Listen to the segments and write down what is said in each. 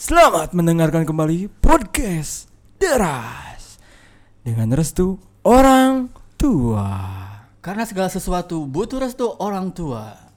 Selamat mendengarkan kembali podcast Deras dengan restu orang tua. Karena segala sesuatu butuh restu orang tua.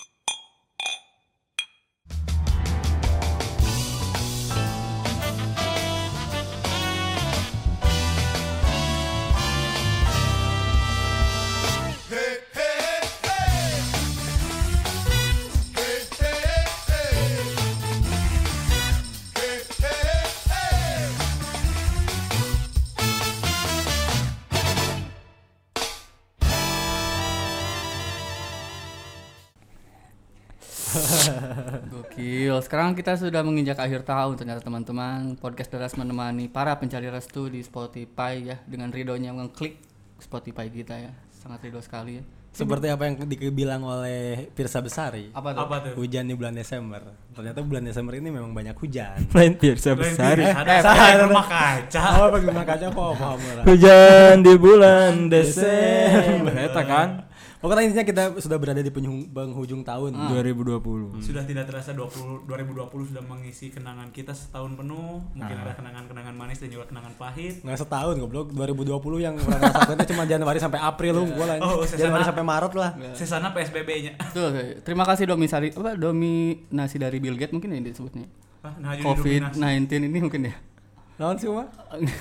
Gokil. Sekarang kita sudah menginjak akhir tahun ternyata teman-teman. Podcast Deras menemani para pencari restu di Spotify ya, dengan ridhonya mengklik Spotify kita ya. Sangat ridho sekali ya. Seperti apa yang dibilang oleh Pirsa Besari. Apa tuh? Hujan di bulan Desember. Ternyata bulan Desember ini memang banyak hujan. Lain Pirsa Besari. Ada rumah kaca. Oh, pakai rumah kaca kok paham. Hujan di bulan Desember. Eta kan. Pokoknya intinya kita sudah berada di penghujung tahun 2020. Sudah tidak terasa 2020 sudah mengisi kenangan kita setahun penuh. Mungkin ada kenangan-kenangan manis dan juga kenangan pahit. Nggak setahun goblok, 2020 yang orang rasakan itu cuma Januari sampai April gua lah. Januari sampai Maret lah. Sesana PSBB-nya. Tuh, terima kasih dominasi dari Bill Gates mungkin ya disebutnya. COVID-19 ini mungkin ya. Naon sih mah?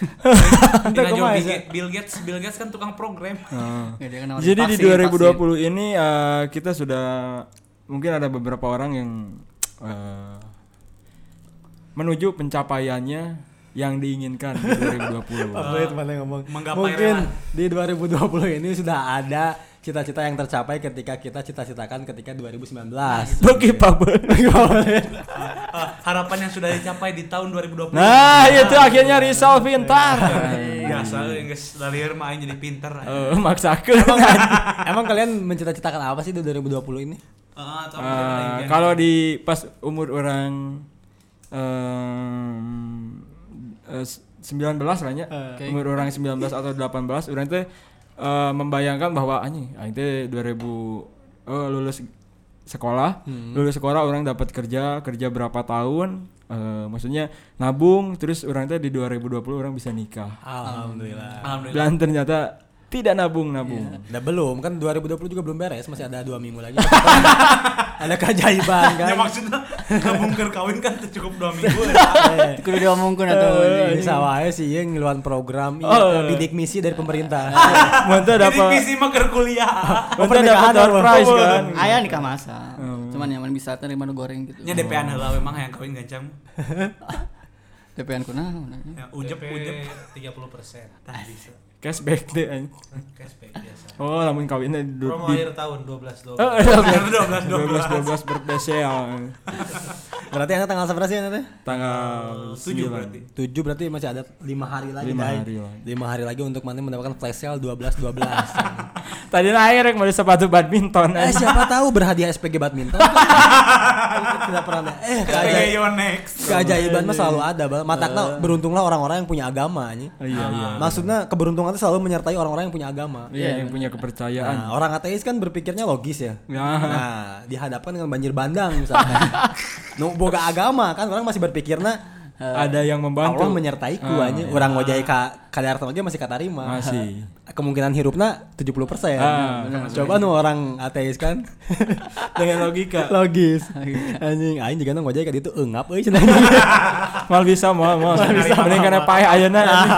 Bill Gates kan tukang program. Jadi di 2020 ini kita sudah mungkin ada beberapa orang yang menuju pencapaiannya yang diinginkan di 2020. Favorit mana ngomong. Mungkin di 2020 ini sudah ada cita-cita yang tercapai ketika kita cita-citakan ketika 2019. Oke, Pak. Harapan yang sudah dicapai di tahun 2020. Nah, itu akhirnya Rizal pintar. Biasa geus lalir mah aing jadi pintar. Maksakeun. Emang kalian mencita-citakan apa sih di 2020 ini? Kalau di pas umur orang 19 lah nya. Umur orang 19 atau 18 orang teh membayangkan bahwa anjing teh 2000 lulus sekolah orang dapat kerja berapa tahun, maksudnya nabung, terus orang teh di 2020 orang bisa nikah. Alhamdulillah. Dan ternyata tidak nabung. Nah, belum kan 2020 juga belum beres, masih ada 2 minggu lagi. Ada keajaiban kan. Ya maksudnya nabung keur kawin kan cukup 2 minggu. Kudu diomongkeun atuh. Bisa wae sih yang ngeluaran program bidik misi dari pemerintah. Mantap dapat. Bidik misi mah keur kuliah. Mantap dapat door prize kan. Aya nikah masa. Cuman yang mana bisa terima nu goreng gitu. Nya DP-an heula memang hayang kawin gancang. DP-an kunaon? Ya ujep 30%. Tah bisa. Cashback deh anjing. Cashback biasa. Oh, lamun kawinnya Promo akhir tahun 12. 12 birthday sale. Berarti Anda tanggal berapa sih Anda? Tanggal 7 berarti. 7 berarti masih ada 5 hari lagi. 5 hari lagi untuk mana mendapatkan flash sale 12. Tadi akhirnya mau sepatu badminton. Siapa tahu berhadiah SPG badminton. Tidak pernah. Keajaiban mah selalu ada, matakna beruntunglah orang-orang yang punya agama anjing. Iya. Maksudnya keberuntungan itu selalu menyertai orang-orang yang punya agama. Iya, yang punya kepercayaan. Nah, orang ateis kan berpikirnya logis ya. Nah, dihadapkan dengan banjir bandang misalnya. Boga agama kan orang masih berpikirnya ada yang membantu. Allah menyertaiku anjing. Urang ngojai ka kadarta ge masih katarima. Masih. Kemungkinan hirupna 70%. Coba nu orang ateis kan dengan logika. Logis. Anjing aing juga ngojai ka ditu eungap euy cenah. Mal bisa mending kana paeh ayeuna anjing.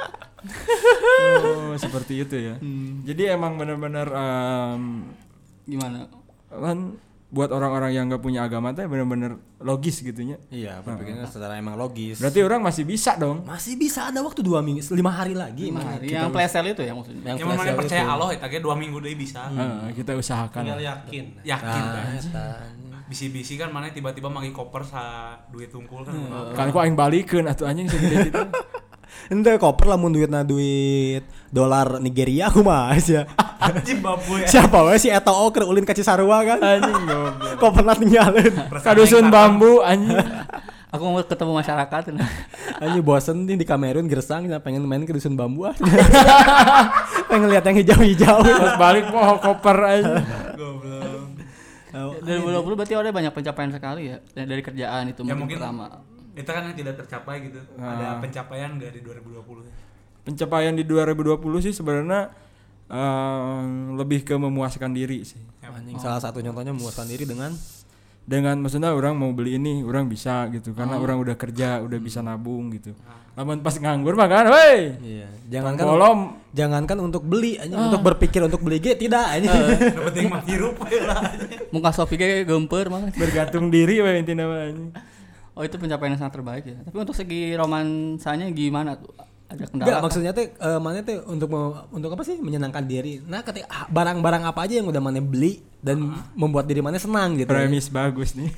Seperti itu ya. Jadi emang benar-benar Gimana? Kan buat orang-orang yang nggak punya agama teh benar-benar logis gitunya. Iya, berpikirnya secara emang logis. Berarti orang masih bisa dong. Masih bisa ada waktu 2 minggu, 5 hari lagi. 5 hari. Yang plesel itu ya maksudnya. Yang mana percaya Allah eta ge 2 minggu deui bisa. Kita usahakan. Tinggal yakin. Bisi-bisi kan mana tiba-tiba mangi koper sa duit tungkul kan. Kan ku aing balikeun atuh anjing segede kitu. Ente koper lamun duit dolar Nigeria kumaha sia. Zimbabwe. Siapa we si eta keur ulin ka Cisarua kan. Anjing goblok. Koperna tinggalin. Ka dusun bambu anjing. Aku mau ketemu masyarakat. Anjing bosen nih di Kamerun gersang pengen main ke dusun bambu ah. Pengen lihat yang hijau-hijau. Pas balik mau koper anjing. Goblok. 2020 berarti ada banyak pencapaian sekali ya dari kerjaan itu Ya mungkin mungkin pertama. Itu kan yang tidak tercapai gitu. Ada pencapaian nggak di 2020? Pencapaian di 2020 sih sebenarnya lebih ke memuaskan diri sih. Salah satu contohnya memuaskan diri dengan maksudnya orang mau beli ini orang bisa gitu karena orang udah kerja udah bisa nabung gitu. Namun pas nganggur mah kan, woi. Iya. Jangankan untuk beli, untuk berpikir untuk beli tidak aja. Penting mah hirup lah. Muka Sofi ge gemper mah. Bergantung diri we intinya mah. Oh itu pencapaian yang sangat terbaik ya. Tapi untuk segi romansanya gimana tuh? Ada kendala? Enggak, maksudnya teh mana teh untuk apa sih menyenangkan diri. Nah, ketika barang-barang apa aja yang udah mana beli dan membuat diri mana senang gitu. Premis bagus nih.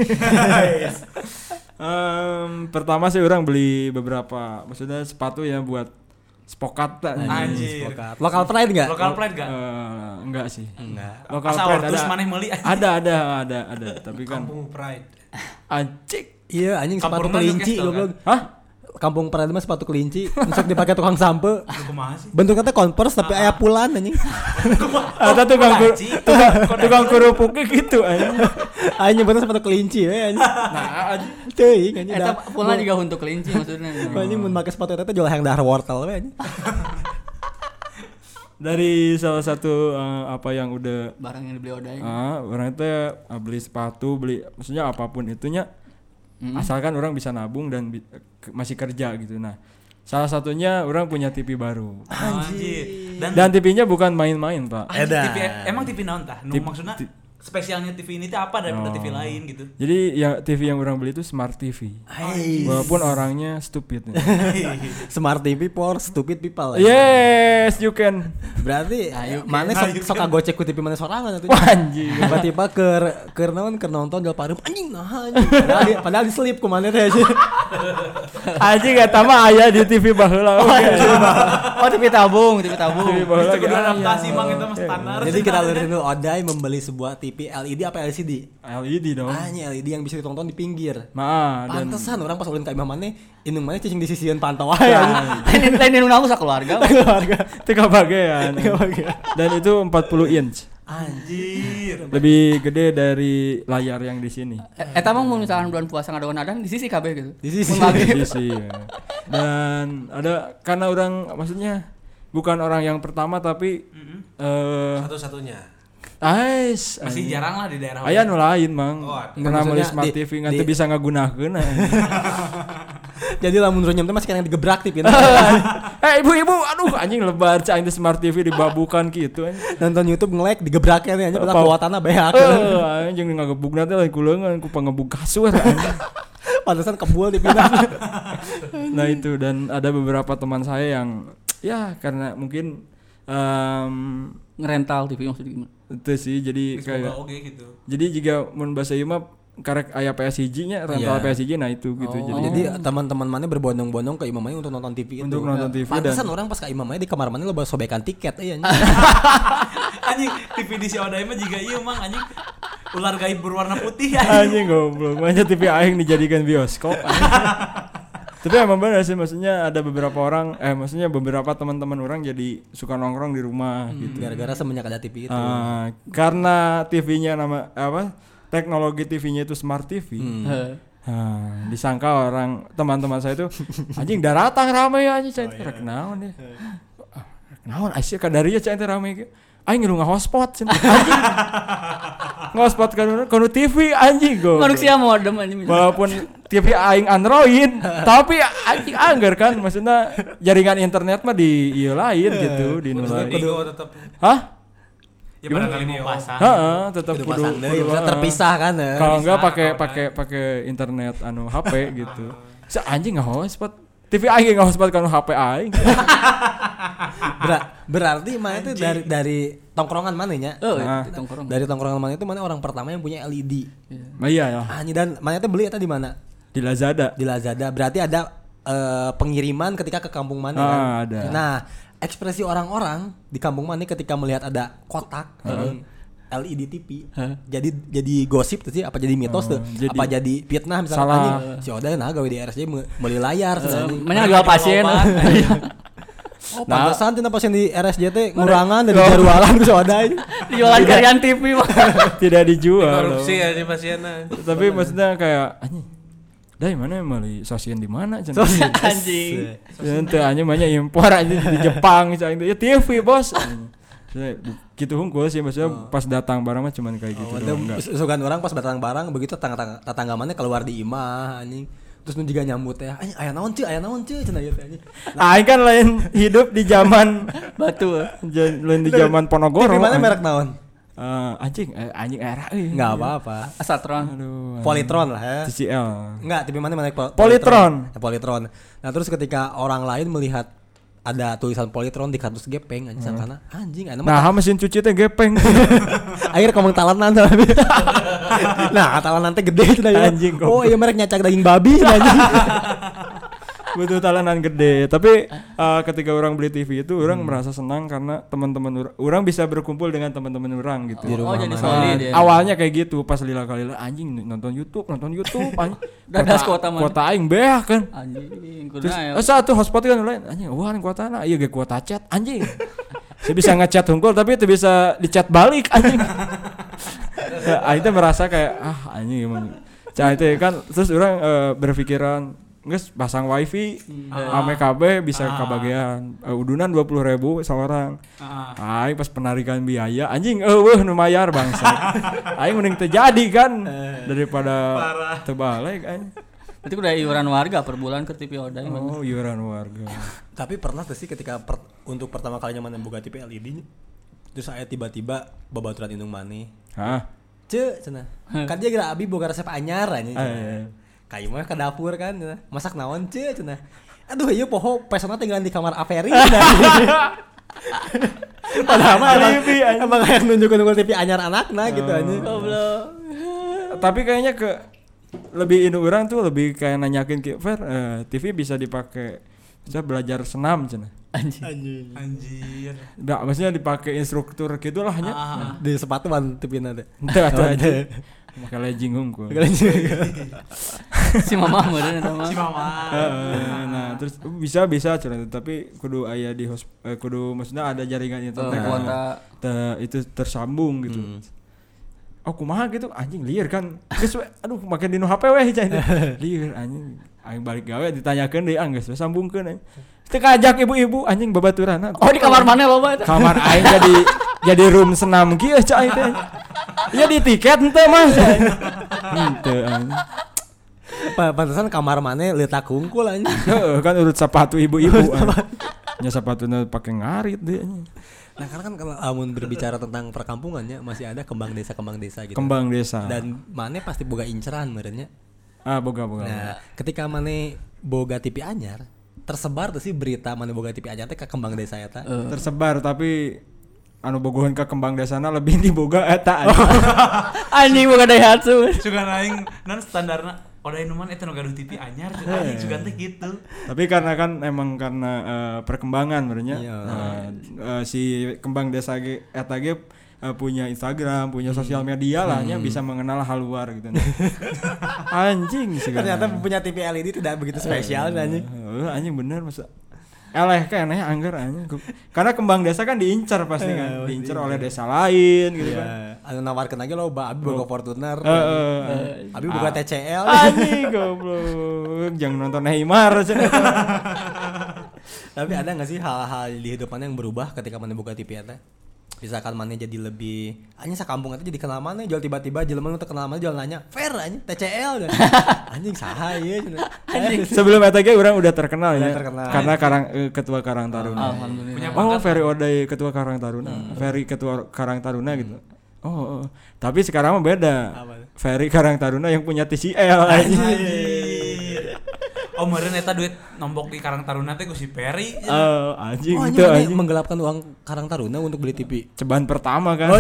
Pertama sih orang beli beberapa, maksudnya sepatu ya buat spokat tak. Anjir. Spokat. Local pride enggak? Local pride enggak? Enggak sih. Enggak. Local asal pride terus maneh meuli. Ada, tapi kan Kampung Pride. anjing. Iya, anjing sepatu Kampurna kelinci Newcastle, goblok. Hah? Kampung Pride mah sepatu kelinci, untuk dipakai tukang sampe. Kumaha sih? Bentuknya teh Converse tapi aya pulan anjing. Ada tukang kerupuknya gitu anjing. Aing nyebutnya sepatu kelinci we anjing. Nah, Teuing anjing. Eta pulna juga untuk kelinci maksudnya. Anjing mun make sepatu eta jual hayang dahar wortel we anjing. dari salah satu apa yang udah Barang yang dibeli Odai. orang itu beli sepatu, beli maksudnya apapun itunya asalkan orang bisa nabung dan masih kerja gitu. Nah, salah satunya orang punya TV baru. Anjir. Dan TV-nya bukan main-main, Pak. TV, emang TV naon tah? Maksudnya spesialnya TV ini teh apa daripada TV lain gitu? Jadi ya TV yang orang beli itu Smart TV. Walaupun orangnya stupid. Smart TV for stupid people. Yes, you can. Berarti mana sok gocek ku TV mana sorangan atuh. Anjing. Tiba-tiba keur nonton Del Parum anjing nah anjing. Padahal diselip ku mana teh. Anjing eta mah aya di TV baheula. Oh, TV tabung. TV baheula Itu kudu adaptasi Mang itu mah standar. Jadi kita lihat dulu Odai membeli sebuah TV LED apa LCD? LED dong. LED yang bisa ditonton di pinggir. Dan Pantesan orang pas ulin ka imah maneh indung maneh cicing di sisian pantau aja. Lain indung namu sakeluarga. tiga bagian. Dan itu 40 inch. Anjir. Lebih gede dari layar yang di sini. Eta mah mun misalkan bulan puasa ngadoan adan di sisi kabeh gitu. Di sisi. Di sisi. Dan ada karena orang maksudnya bukan orang yang pertama tapi Satu-satunya. Masih jarang lah di daerah. Aya nu lain, Mang. Pernah beli maksudnya Smart TV ngan teu bisa ngagunakeun. Jadi lamun runyem teh masih kena digebrak TV. Ibu-ibu, aduh anjing lebar cai teh Smart TV dibabukan gitu anjing. Nonton YouTube nge-lag digebraknya teh anjing padahal kuatanna beak. Anjing ngagebugna teh lain kuleungan ku pangebug kasur anjing. Pantesan kebul dipindah. Nah itu, dan ada beberapa teman saya yang ya karena mungkin Ngerental TV maksudnya gimana? itu sih jadi kayak gitu. jadi jika mun bahasa ieu mah karek aya PSG nya rental PSG nah itu gitu. Jadi teman-teman mana berbondong-bondong ke imam mana untuk nonton TV itu. Untuk nonton TV. Pantesan orang pas ke imam mana di kamar mana lo sobekan tiket Anjing TV di si Odai mah juga ieu Mang anjing. Ular gaib berwarna putih anjing goblok. Makanya TV aing dijadikan bioskop. Tapi emang benar sih, maksudnya ada beberapa orang maksudnya beberapa teman-teman orang jadi suka nongkrong di rumah gitu. Gara-gara semenjak ada TV itu. Karena TV-nya nama apa? Teknologi TV-nya itu Smart TV. Disangka orang teman-teman saya itu anjing daratang ramai anjing saya rek naon deh. Naon Aisyah kadarinya cai teh ramai. Aing ngilu hotspot anjing. Hotspot kanu TV anjing go. Manusia modem anjing. Walaupun TV aing Android, tapi anjing anggar kan maksudnya jaringan internet mah di ieu lain gitu, di nu lain. Tetap. Hah? Ya barangkali mau pasang. Tetap kudu terpisah kan. Kalau enggak pakai internet anu HP gitu. Si anjing hotspot. TV aing hotspot kanu HP aing. Berarti mana itu dari tongkrongan mana nya? Tongkrong. Dari tongkrongan mana itu mana orang pertama yang punya LED. Iya ya. Anjing, dan mana itu beli eta di mana? Di Lazada. Di Lazada. Berarti ada pengiriman ketika ke kampung mana kan? Ada. Nah, ekspresi orang-orang di kampung mana ketika melihat ada kotak LED TV. Jadi gosip tuh sih, apa jadi mitos tuh? Apa jadi fitnah misalnya anjing si Odai nah gawe di RSJ meuli layar Mana jual pasien. Oh, pantesan tina pasien di RSJ teh ngurangan dari jarualan ku si Odai. Jualan karyan TV mah. Tidak dijual. Korupsi ya di pasiennya. Tapi maksudnya kayak anjing "Dai mana meuli sosieun di mana?" cenah. Anjing. Ente anjing banyak impor anjing di Jepang cenah itu. Ya TV, Bos. Gitu hungkul sih maksudnya pas datang barang mah cuman kayak gitu doang. Sugan orang pas datang barang begitu tetangga mana keluar di imah anjing. Terus nu juga nyambut ya. Anjing aya naon ceu cenah ieu teh anjing. Aing kan lain hidup di zaman batu. Lain di zaman Ponorogo. Di mana merek naon? Anjing era euy. Enggak apa-apa. Asatron. Aduh. Politron lah ya. TCL. Enggak, tapi mana merek Politron. Politron. Nah, terus ketika orang lain melihat ada tulisan Politron di kardus gepeng anjing sangkana anjing anu nah mesin cuci teh gepeng. akhir ngomong talanan nah talanan teh gede anjing. Oh iya merek nyacak daging babi anjing. Butuh talanan gede. Tapi ketika orang beli TV itu orang merasa senang karena teman-teman orang bisa berkumpul dengan teman-teman orang gitu. Oh jadi solid ya. Awalnya kayak gitu pas lila-lila anjing nonton YouTube anjing. Dadas kuota mana? Kuota aing beah kan. Anjing Terus satu hotspot kan lain anjing wah kuotana ieu ge kuota chat anjing. Saya bisa ngechat hungkul tapi itu bisa dicat balik anjing. Aing teh merasa kayak anjing emang. Itu kan terus orang berpikiran geus pasang wifi ame KB bisa kabagean udunan 20.000 seorang. Aing pas penarikan biaya anjing nu mayar bangsa. Aing mending teu jadi kan daripada teu balik anjing. Berarti udah iuran warga per bulan ke TV Oday. Oh, iuran warga. Tapi pernah tuh sih ketika untuk pertama kalinya mana boga TV LED terus saya tiba-tiba babaturan indung maneh. Hah? Cenah. Kan dia geura abi boga resep anyar anjing. Kayu mah ke dapur kan masak naon cenah. Aduh ieu poho pesona tinggal di kamar Averi. Padahal mah emang yang nunjuk-nunjuk TV anyar anakna gitu anjing. Goblok. Tapi kayaknya lebih induk orang tuh lebih kayak nanyakin ke Fer TV bisa dipakai bisa belajar senam cenah. Anjir. Enggak, maksudnya dipakai instruktur gitulah nya. Di sepatuan TV-na teh. Teu aja. Make legging hungkul. Si mama meureun eta mah. Si mama. Nah, terus bisa cenah tapi kudu aya di kudu maksudnya ada jaringan internet kuota itu tersambung gitu. Oh kumaha gitu anjing lieur kan. Geus aduh make dinu HP we cenah. Lieur anjing. Aing balik gawe ditanyakeun deui geus sambungkeun anjing. Teu kajak ibu-ibu anjing babaturan. Oh di kamar mana loba eta? Kamar aing jadi room senam kieu cai teh. Ya di tiket henteu mah. Henteu anjing. Pantesan kamar maneh letak hungkul anjing. Heeh kan urut sepatu ibu-ibu. Nya sepatuna pake ngarit deh anjing. Nah karena kan kalau amun berbicara tentang perkampungannya masih ada kembang desa gitu. Kembang desa. Dan maneh pasti boga inceran meureunnya. Boga. Nah, ketika maneh boga TV anyar, tersebar tuh sih berita maneh boga TV anyar teh ka kembang desa eta. Tersebar tapi anu bogohan ke kembang desana lebih diboga eta anjing boga Daihatsu. Sugan aing non standarna Oday nu mana eta nu gaduh TV anyar anjing sugan teh gitu. Tapi karena kan emang karena perkembangan sebenarnya si kembang desa eta ge punya Instagram, punya sosial media lah nya bisa mengenal hal luar gitu. Anjing segala. Ternyata punya TV LED tidak begitu spesial anjing. Anjing bener masa eleh keneh anggar anjing. Karena kembang desa kan diincar pasti kan, diincar oleh desa lain gitu kan. Anu nawarkeun lagi loba abi boga Fortuner. Abi boga TCL. Anjing goblok. Jangan nonton Neymar cenah. Tapi ada enggak sih hal-hal di hidup mana yang berubah ketika mana boga TV eta? Misalkan mana jadi lebih anjing sakampung eta jadi kenal mana jual tiba-tiba jelema nu teu kenal mana jual nanya, "Fer anjing TCL." Anjing saha ieu cenah. Sebelum eta ge urang udah terkenal ya. Karena ketua Karang Taruna. Alhamdulillah. Ferry Oday ketua Karang Taruna. Ferry ketua Karang Taruna gitu. Oh. Tapi sekarang mah beda. Ferry Karang Taruna yang punya TCL anjing. Oh meureun eta duit nombok di Karang Taruna teh ku si Perry. Anjing itu anjing menggelapkan uang Karang Taruna untuk beli TV. Ceban pertama kan.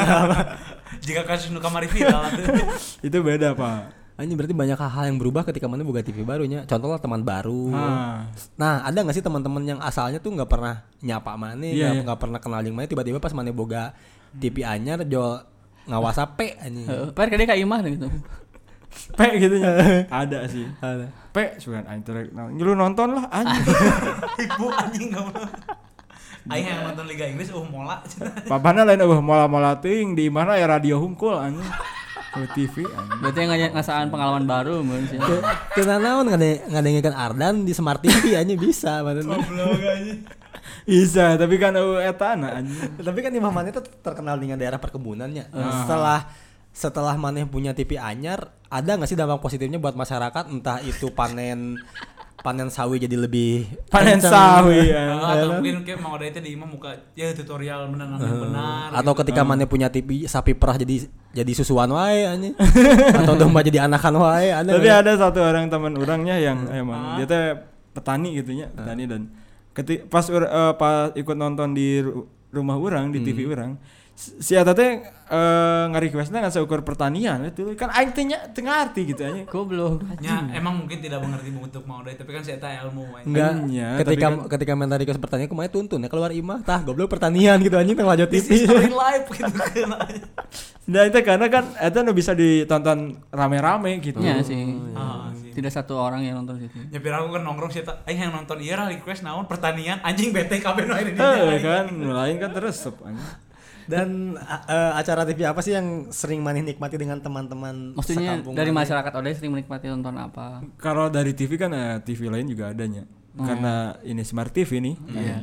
Jika kasus nu kamari viral itu beda, Pak. Anjing berarti banyak hal yang berubah ketika mana boga TV barunya. Contohnya teman baru. Nah, ada enggak sih teman-teman yang asalnya tuh enggak pernah nyapa mana, enggak pernah kenal jeung mana tiba-tiba pas mana boga TV anyar jual ngawas HP anjing. Per kade ka imah gitu. P gitu nya. Ada sih. Ada. P sugan aing teh lu nonton lah anjing. Ibu anjing ngomong. Aing yang nonton Liga Inggris mola. Papana lain mola-mola teuing di mana ya radio hungkul anjing. TV. Berarti ngasaan pengalaman baru mun sih. Teu naon ngadengkeun Ardan di Smart TV anjing bisa maksudnya. Goblok anjing. Bisa, tapi kan eta anjing. Tapi kan Imam Maneh itu terkenal dengan daerah perkebunannya. Setelah Maneh punya TV anyar, ada enggak sih dampak positifnya buat masyarakat, entah itu panen sawi jadi lebih panen sawi ya. Atau mungkin kayak mau ada itu di Imam muka ya tutorial menanam yang benar atau gitu. ketika Maneh punya TV sapi perah jadi susuan wae anjing atau domba jadi anakan wae. Tapi ada satu orang teman orangnya yang emang dia teh petani gitunya, petani dan pas ikut nonton di rumah orang di TV orang si eta teh nge-requestna ngan seukur pertanian itu kan aing teh teu ngarti gitu anya. Goblok. Ya emang mungkin tidak mengerti bentuk mau tapi kan si eta ilmu enggak ketika minta request pertanian kumaha tuntun ya keluar imah tah goblok pertanian gitu anjing teh lanjut TV live gitu kan. Nah itu karena kan itu bisa ditonton rame-rame gitu. Iya sih. Tidak satu orang yang nonton situ. Nyepir aku kan nongkrong sih aing yang nonton ieu request naon pertanian anjing bete kabeh nu aya di dieu. Kan lain kan terus anjing. Dan acara TV apa sih yang sering Maneh nikmati dengan teman-teman maksudnya dari masyarakat Odai sering menikmati nonton apa? Kalau dari TV kan TV lain juga adanya. Karena ini Smart TV nih.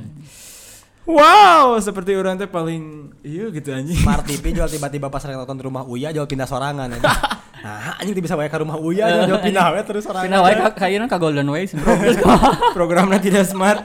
Wow, seperti orang teh paling gitu anjing. Smart TV jual tiba-tiba pas nonton di rumah Uya jual pindah sorangan anjing. Nah, anjing bisa wae ka rumah Uya jual pindah wae terus sorangan. Pindah wae kayaknya ka Golden Way programnya tidak smart.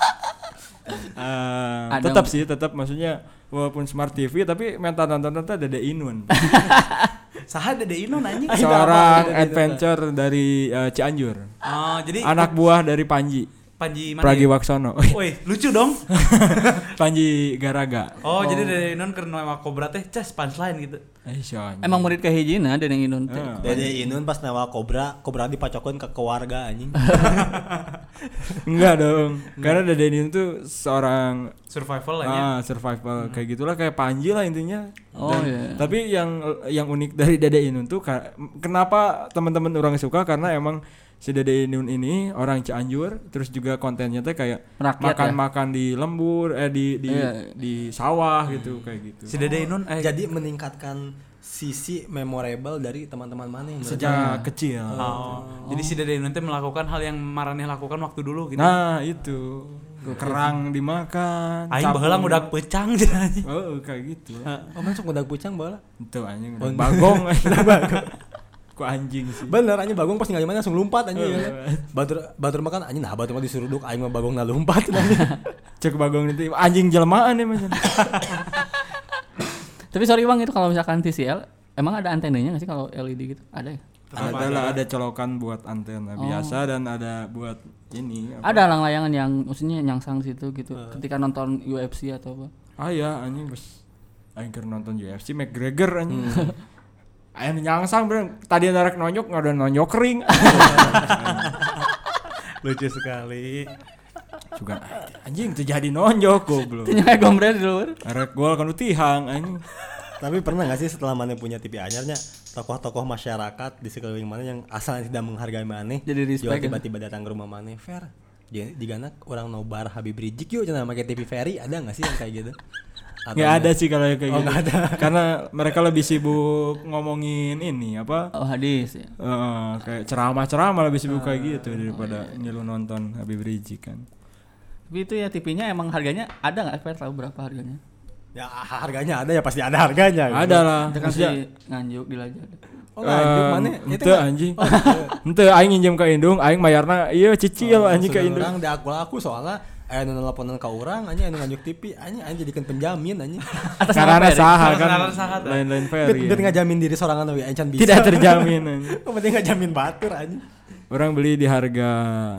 tetap maksudnya walaupun Smart TV tapi mental nonton Dede Inun. Saha Dede Inun anjing? Seorang adventure dari Cianjur. Jadi anak buah dari Panji mana? Pragiwaksono. Woi, lucu dong. Panji Garaga. Jadi Dede Inun keur nawa Cobra teh cas punchline gitu. Emang murid kahijina Dede Inun teh. Dede Inun pas nawa Cobra dipacokeun ke keluarga anjing. Enggak dong. Karena Dede Inun tuh seorang survival lah ya. Survival kayak gitulah kayak Panji lah intinya. Iya. Tapi yang unik dari Dede Inun tuh kenapa teman-teman orang suka karena emang si Dede Inun ini orang Cianjur, terus juga kontennya teh kayak makan di lembur, di sawah gitu kayak gitu. Si Dede Inun jadi meningkatkan sisi memorable dari teman-teman Maneh sejak kecil. Jadi si Dede Inun teh melakukan hal yang Maraneh lakukan waktu dulu gitu. Nah, itu. Kerang dimakan. Aing baheula ngudag pecang cenah anjing. Kayak gitu. Masuk ngudag pecang baheula. Itu anjing bagong. Ku anjing sih. Bener anjing bagong pas ninggalin langsung lompat anjing. Batur makan anjing batur mah disuruduk aing mah bagong na lompat anjing. Cek bagong itu anjing jelmaan ya macam. Tapi sorry Bang itu kalau misalkan TCL emang ada antenanya enggak sih kalau LED gitu? Ada ya? Ada colokan buat antena biasa dan ada buat ini. Ada layangan yang maksudnya nyangsang situ gitu. Ketika nonton UFC atau apa? Ya anjing bos. Aing keur nonton UFC McGregor anjing. Aing nyangsang bener. Tadi narek nonyok ada nonyok kering. Lucu sekali. Juga anjing teu jadi nonjok goblok. Teu nyae gombrel di luar. Arek gol kan tihang anjing. Tapi pernah enggak sih setelah Maneh punya TV anyarnya tokoh-tokoh masyarakat di sekeliling Maneh yang asalnya tidak menghargai Maneh jadi respect tiba-tiba datang ke rumah Maneh fair. Digana orang nobar Habib Rizik yuk cenah make TV Ferry ada enggak sih yang kayak gitu? Nggak ada sih kalau kayak gitu. Ada. Karena mereka lebih sibuk ngomongin ini apa? Hadis ya. Kayak ceramah lebih sibuk kayak gitu daripada ngilu nonton Habib Rizik kan. Tapi itu ya TV-nya emang harganya ada nggak? Fer tahu berapa harganya? Ya harganya ada ya pasti ada harganya. Ada lah. Itu kan si Nganjuk di Lajah. Nganjuk mana? Itu anjing. Ente aing nginjem ka indung, aing mayarna ieu cicil anjing ka indung. Urang diakul-aku soalnya aya nu nelponan ka urang anjing anu nganjuk TV anjing jadikeun penjamin anjing. Karena saha kan lain-lain Ferry. Biar ngajamin diri sorangan we encan bisa. Tidak terjamin anjing. Penting ngajamin batur anjing. Orang beli di harga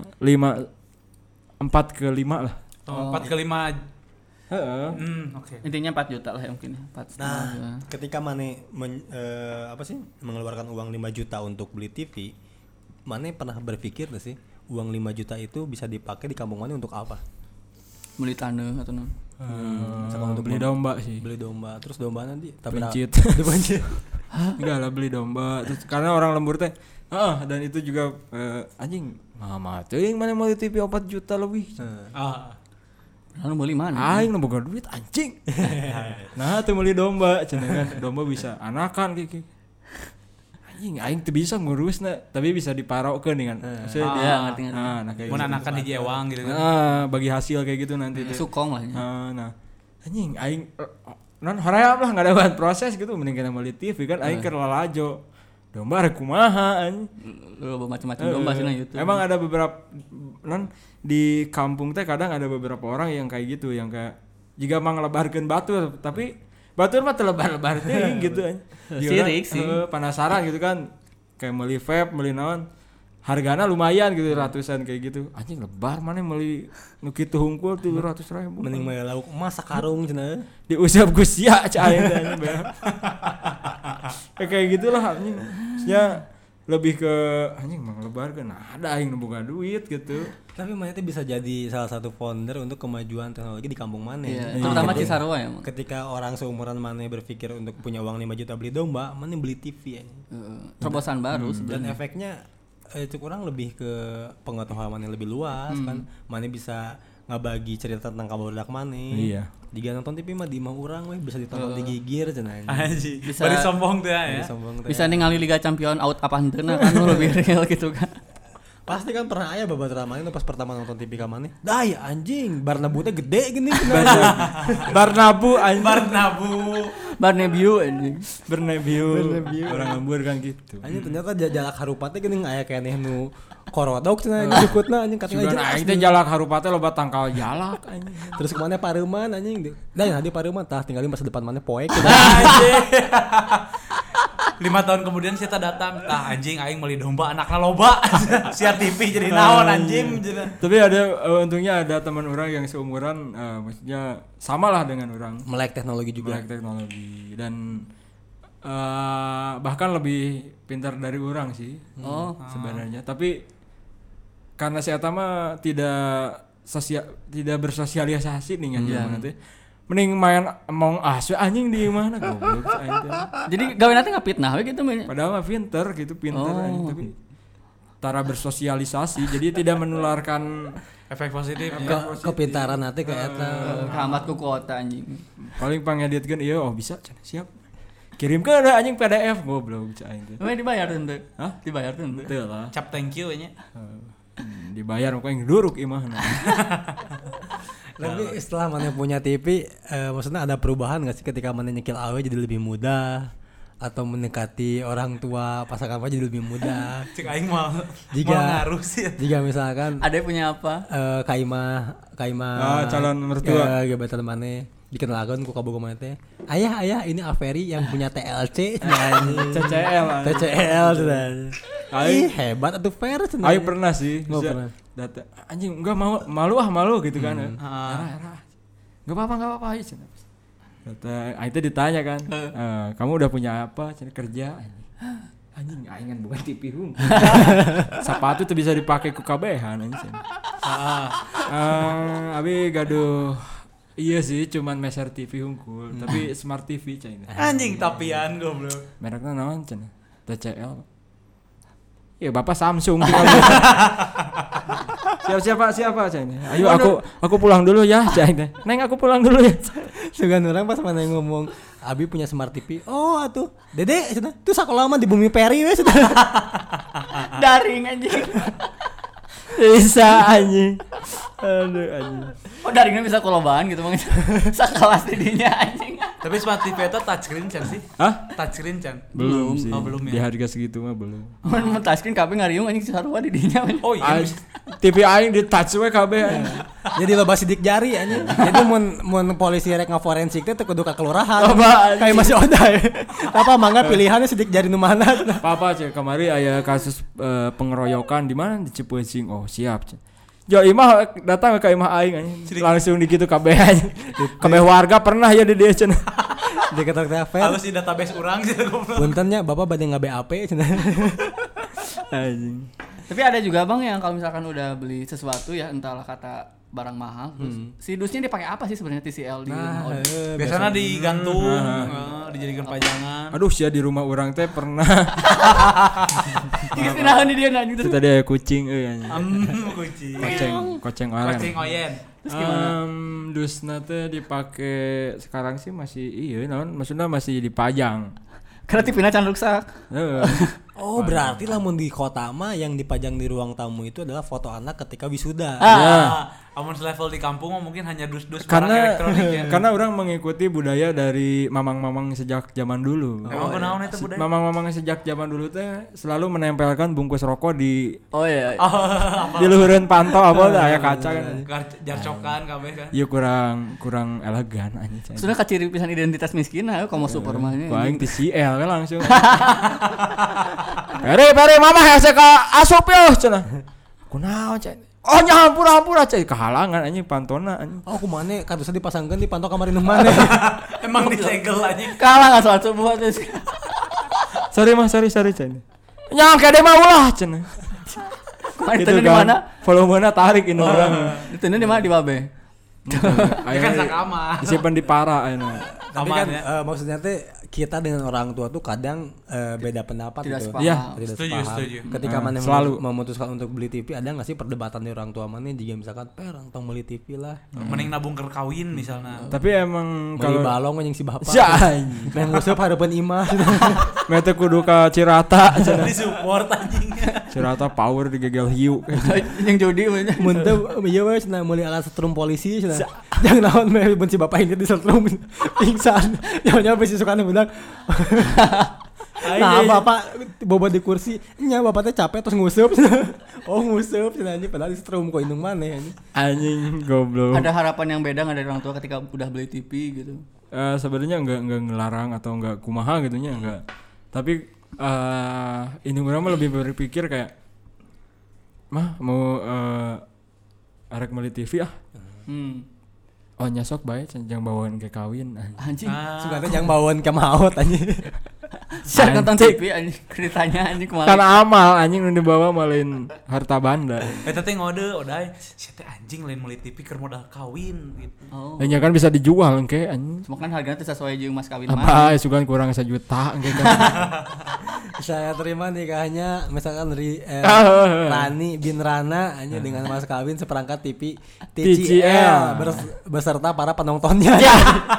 4 ke 5 lah. 4 ke 5. Okay. Intinya 4 juta lah ya mungkin 4,5. Nah, ketika Maneh mengeluarkan uang 5 juta untuk beli TV, Maneh pernah berpikir enggak sih uang 5 juta itu bisa dipakai di kampung Maneh untuk apa? Beli tanah atau untuk beli domba sih. Beli domba, terus domba nanti dipencit. Enggak lah beli domba. Terus karena orang lembur teh dan itu juga anjing mama teuing mana mau TV 4 juta lebih. Lalu beli mana? Aing nu boga duit anjing. Nah, teu meuli domba cenah kan. Domba bisa anakan kiki. aing teu bisa ngurusna tapi bisa diparokeun dengan maksudnya ngerti. Nah kayak mun anakan hiji ewang gitu kan. Bagi hasil kayak gitu nanti teh. Sukong lah. Nah anjing aing non hoream lah enggak ada bahan proses gitu mending kita meuli TV kan aing keur lalajo. Domba rek kumaha anjing. Macam-macam domba sih na YouTube. Emang ada beberapa non di kampung teh kadang ada beberapa orang yang kayak gitu yang kayak jika manglebarkeun batur tapi batur mah teu lebar-lebar teh gitu anjing. Sirik sih. Penasaran gitu kan kayak meuli vape, meuli naon. Hargana lumayan gitu ratusan kayak gitu. Anjing lebar mana meuli nu kitu hungkul 700.000. Mending mah lauk emas sakarung cenah. Diusap ku sia cai teh anjing. Kayak gitulah anjing. Maksudnya lebih ke anjing manglebarkeun ada aing nu boga duit gitu. Tapi mana itu bisa jadi salah satu founder untuk kemajuan teknologi di kampung mana. Iya, terutama Cisarua ya. Ketika orang seumuran mana berpikir untuk punya uang 5 juta beli domba, mana beli TV ya. Terobosan baru Dan efeknya itu kurang lebih ke pengetahuan yang lebih luas kan. Mana bisa ngabagi cerita tentang kabarudak mana. Iya. Jika nonton TV mah di imah urang we bisa ditonton di Gigir cenah. Anjing. Bari sombong teh ya. Bisa ningali Liga Champion out apa henteu kan lebih real gitu kan. Pasti kan pernah aya babaturan mana pas pertama nonton TV ka maneh. Dah ya anjing, Barnabu teh gede gini. Barnabu anjing. Barnebiu anjing. Bernebiu. Orang ngambur kan gitu. Anjing ternyata jalak harupa teh geuning aya keneh nu korodok cenah disebutna anjing katanya jelas. Aing teh jalak harupa teh loba tangkal jalak anjing. Terus kemana Pareuman anjing. Da ya di Pareuman tah tinggalin masa depan maneh poek. 5 tahun kemudian kita datang, anjing aing meuli domba anakna loba. Siar TV jadi naon anjing. Tapi ada untungnya ada teman orang yang seumuran maksudnya samalah dengan orang. Melek teknologi juga. Melek teknologi dan bahkan lebih pintar dari orang sih. Sebenarnya. Tapi karena si eta mah tidak bersosialisasi nih anjing nanti. Mending main Among Us anjing di mana goblok aing. Jadi gawe nanti ngapitnah we gitu mah. Padahal mah pinter anjing tapi tara bersosialisasi jadi tidak menularkan efek positif kepintaran nanti ke eta. Kamat ku kuota anjing. Paling pangeditkeun ieu bisa cenah siap. Kirimkeun ada anjing PDF goblok aing teh. We dibayar teu? Hah? Dibayar teu? Teu lah. Cap thank you nya. Dibayar kok yang duruk imahna. Tapi setelah mana punya TV, maksudnya ada perubahan nggak sih ketika mana nyekil awe jadi lebih mudah atau mendekati orang tua pasangan apa jadi lebih mudah? Cek aing mah ngaruh sih. Jika misalkan ada punya apa? Kaimah calon mertua. Gebetan mana dikenalkan ku kabogo mana teh. Ayah ini Averi yang punya TLC TCL sudah. Hebat atuh fair cenah. Aing pernah sih. Data anjing enggak malu gitu kan. Era. Enggak apa-apa aja cenah. Data aing teh ditanya kan. Kamu udah punya apa? Cenah kerja. Anjing aing kan bukan TV hung. Sepatu tuh bisa dipakai ku kabehan anjing. Abi gaduh. Iya sih, cuman meser TV hungkul, tapi smart TV cina. Anjing tapian goblok. Mereknya naon cina? TCL. Iya, Bapak Samsung. Siapa cina? Ayo aku pulang dulu ya, cina. Neng aku pulang dulu ya. Segan orang pas mana ngomong, Abi punya smart TV. Oh, atuh. Dede cina. Tuh sakola mah di Bumi Peri we cina. Daring anjing. Bisa anjing. Aduh anjing. Oh daringnya bisa kolobaan gitu mah. Sakelas didinya anjing. Tapi smart TV itu touchscreen can sih? Hah? Touchscreen can? Belum sih. Oh, belum ya. Di harga segitu mah belum. Mun touchscreen kabeh ngariung anjing sarua didinya. Oh iya. TV aing di touch we kabeh. Jadi loba sidik jari anjing. Jadi mun polisi rek ngaforensik teh kudu ka kelurahan. Kayak masih oda. Apa mangga pilihannya sidik jari nu mana? Papa cek kemari aya kasus pengeroyokan di mana di Cipeusing. Oh, siap cek. Jo imah datang ke imah aing anjing. Langsung di kitu kabeh anjing. Kabeh warga pernah ya di dieu cenah. Di kata fair. Halus di database urang sih goblok. Puntennya Bapak bade nge-BAP cenah. Anjing. Tapi ada juga Bang yang kalau misalkan udah beli sesuatu ya entahlah kata barang mahal terus si dusnya dipakai apa sih sebenarnya TCL di biasanya digantung dijadikan pajangan. Aduh sia di rumah orang teh pernah dikasih di dia nanya terus tadi ada kucing anjing. Koceng oyen. Terus gimana? Dusna teh dipake sekarang sih masih naon maksudnya masih dipajang. Karena TV-nya can rusak. Oh, berarti lamun di kota mah yang dipajang di ruang tamu itu adalah foto anak ketika wisuda. Amun selevel di kampung mungkin hanya dus-dus barang Karena elektronik ya. karena orang mengikuti budaya dari mamang-mamang sejak zaman dulu. Emang kunaon eta budaya? Mamang-mamang sejak zaman dulu teh selalu menempelkan bungkus rokok di Iya. di luhureun panto apa aya kaca kan. Jarcokan kabeh kan. Ieu kurang elegan anjing. Sudah kaciri pisan identitas miskin ayo kamu super mah. Ku aing ti CL kan langsung. Pare mama hese ka asup yo cenah. Kunaon cenah? Oh nya hampura cai kehalangan anjing pantona anjing. Oh kumane kadusnya dipasangkeun di pantau kamar indung maneh. Emang disegel anjing. Kalah enggak soal subuh terus. Sorry cai. Nya kade mah ulah cenah. Itu di mana? Volumenya tarik ini orang. Itu di mana di Babe? Kan sakama. Disimpan di para ayeuna. Tapi kan maksudnya teh kita dengan orang tua tuh kadang beda pendapat Tidak gitu. sepaham. Iya. Tidak Setuju. Ketika mana selalu memutuskan untuk beli TV, ada nggak sih perdebatan di orang tua mana jika misalkan perang tong beli TV lah. Mending nabung keur kawin misalnya. Tapi emang Beli kalau balong anjing si bapak. Main Nguseup harapan imah. mete kudu ka Cirata cenah. Di support anjing. Cirata power digegel hiu. Yang jodi mah. Mun teu ieu we cenah meuli alat setrum polisi cenah. Jangan naon meh benci bapak ini di setrum pingsan. Nyawa bisi sukana budak. Nah bapak bobo di kursi. Nya bapak teh capek terus nguseup. Oh nguseup cenah anjing padahal di setrum kok indung maneh anjing. Anjing goblok. Ada harapan yang beda enggak dari orang tua ketika udah beli TV gitu? Sebenarnya enggak ngelarang atau enggak kumaha gitunya enggak. Tapi ini orang mah lebih berpikir kayak mah mau arek meuli TV ah. Oh nyasok bae jangan bawaan ke kawin Anjing. Suka teh jangan bawaan ke maot anjing. Saya nonton TV anjing ceritanya anjing kemarin. Kan amal anjing nu dibawa malin harta banda. Eta teh ngode odai. Si teh anjing lain meuli TV keur modal kawin gitu. Oh. Ya kan bisa dijual engke anjing. Cuma kan harganya teh sesuai jeung mas kawin mah. Apa sugan kurang 1 juta engke kan. Saya terima nikahnya misalkan Rani bin Rana hanya dengan mas kawin seperangkat TV TCL beserta para penontonnya. Ya.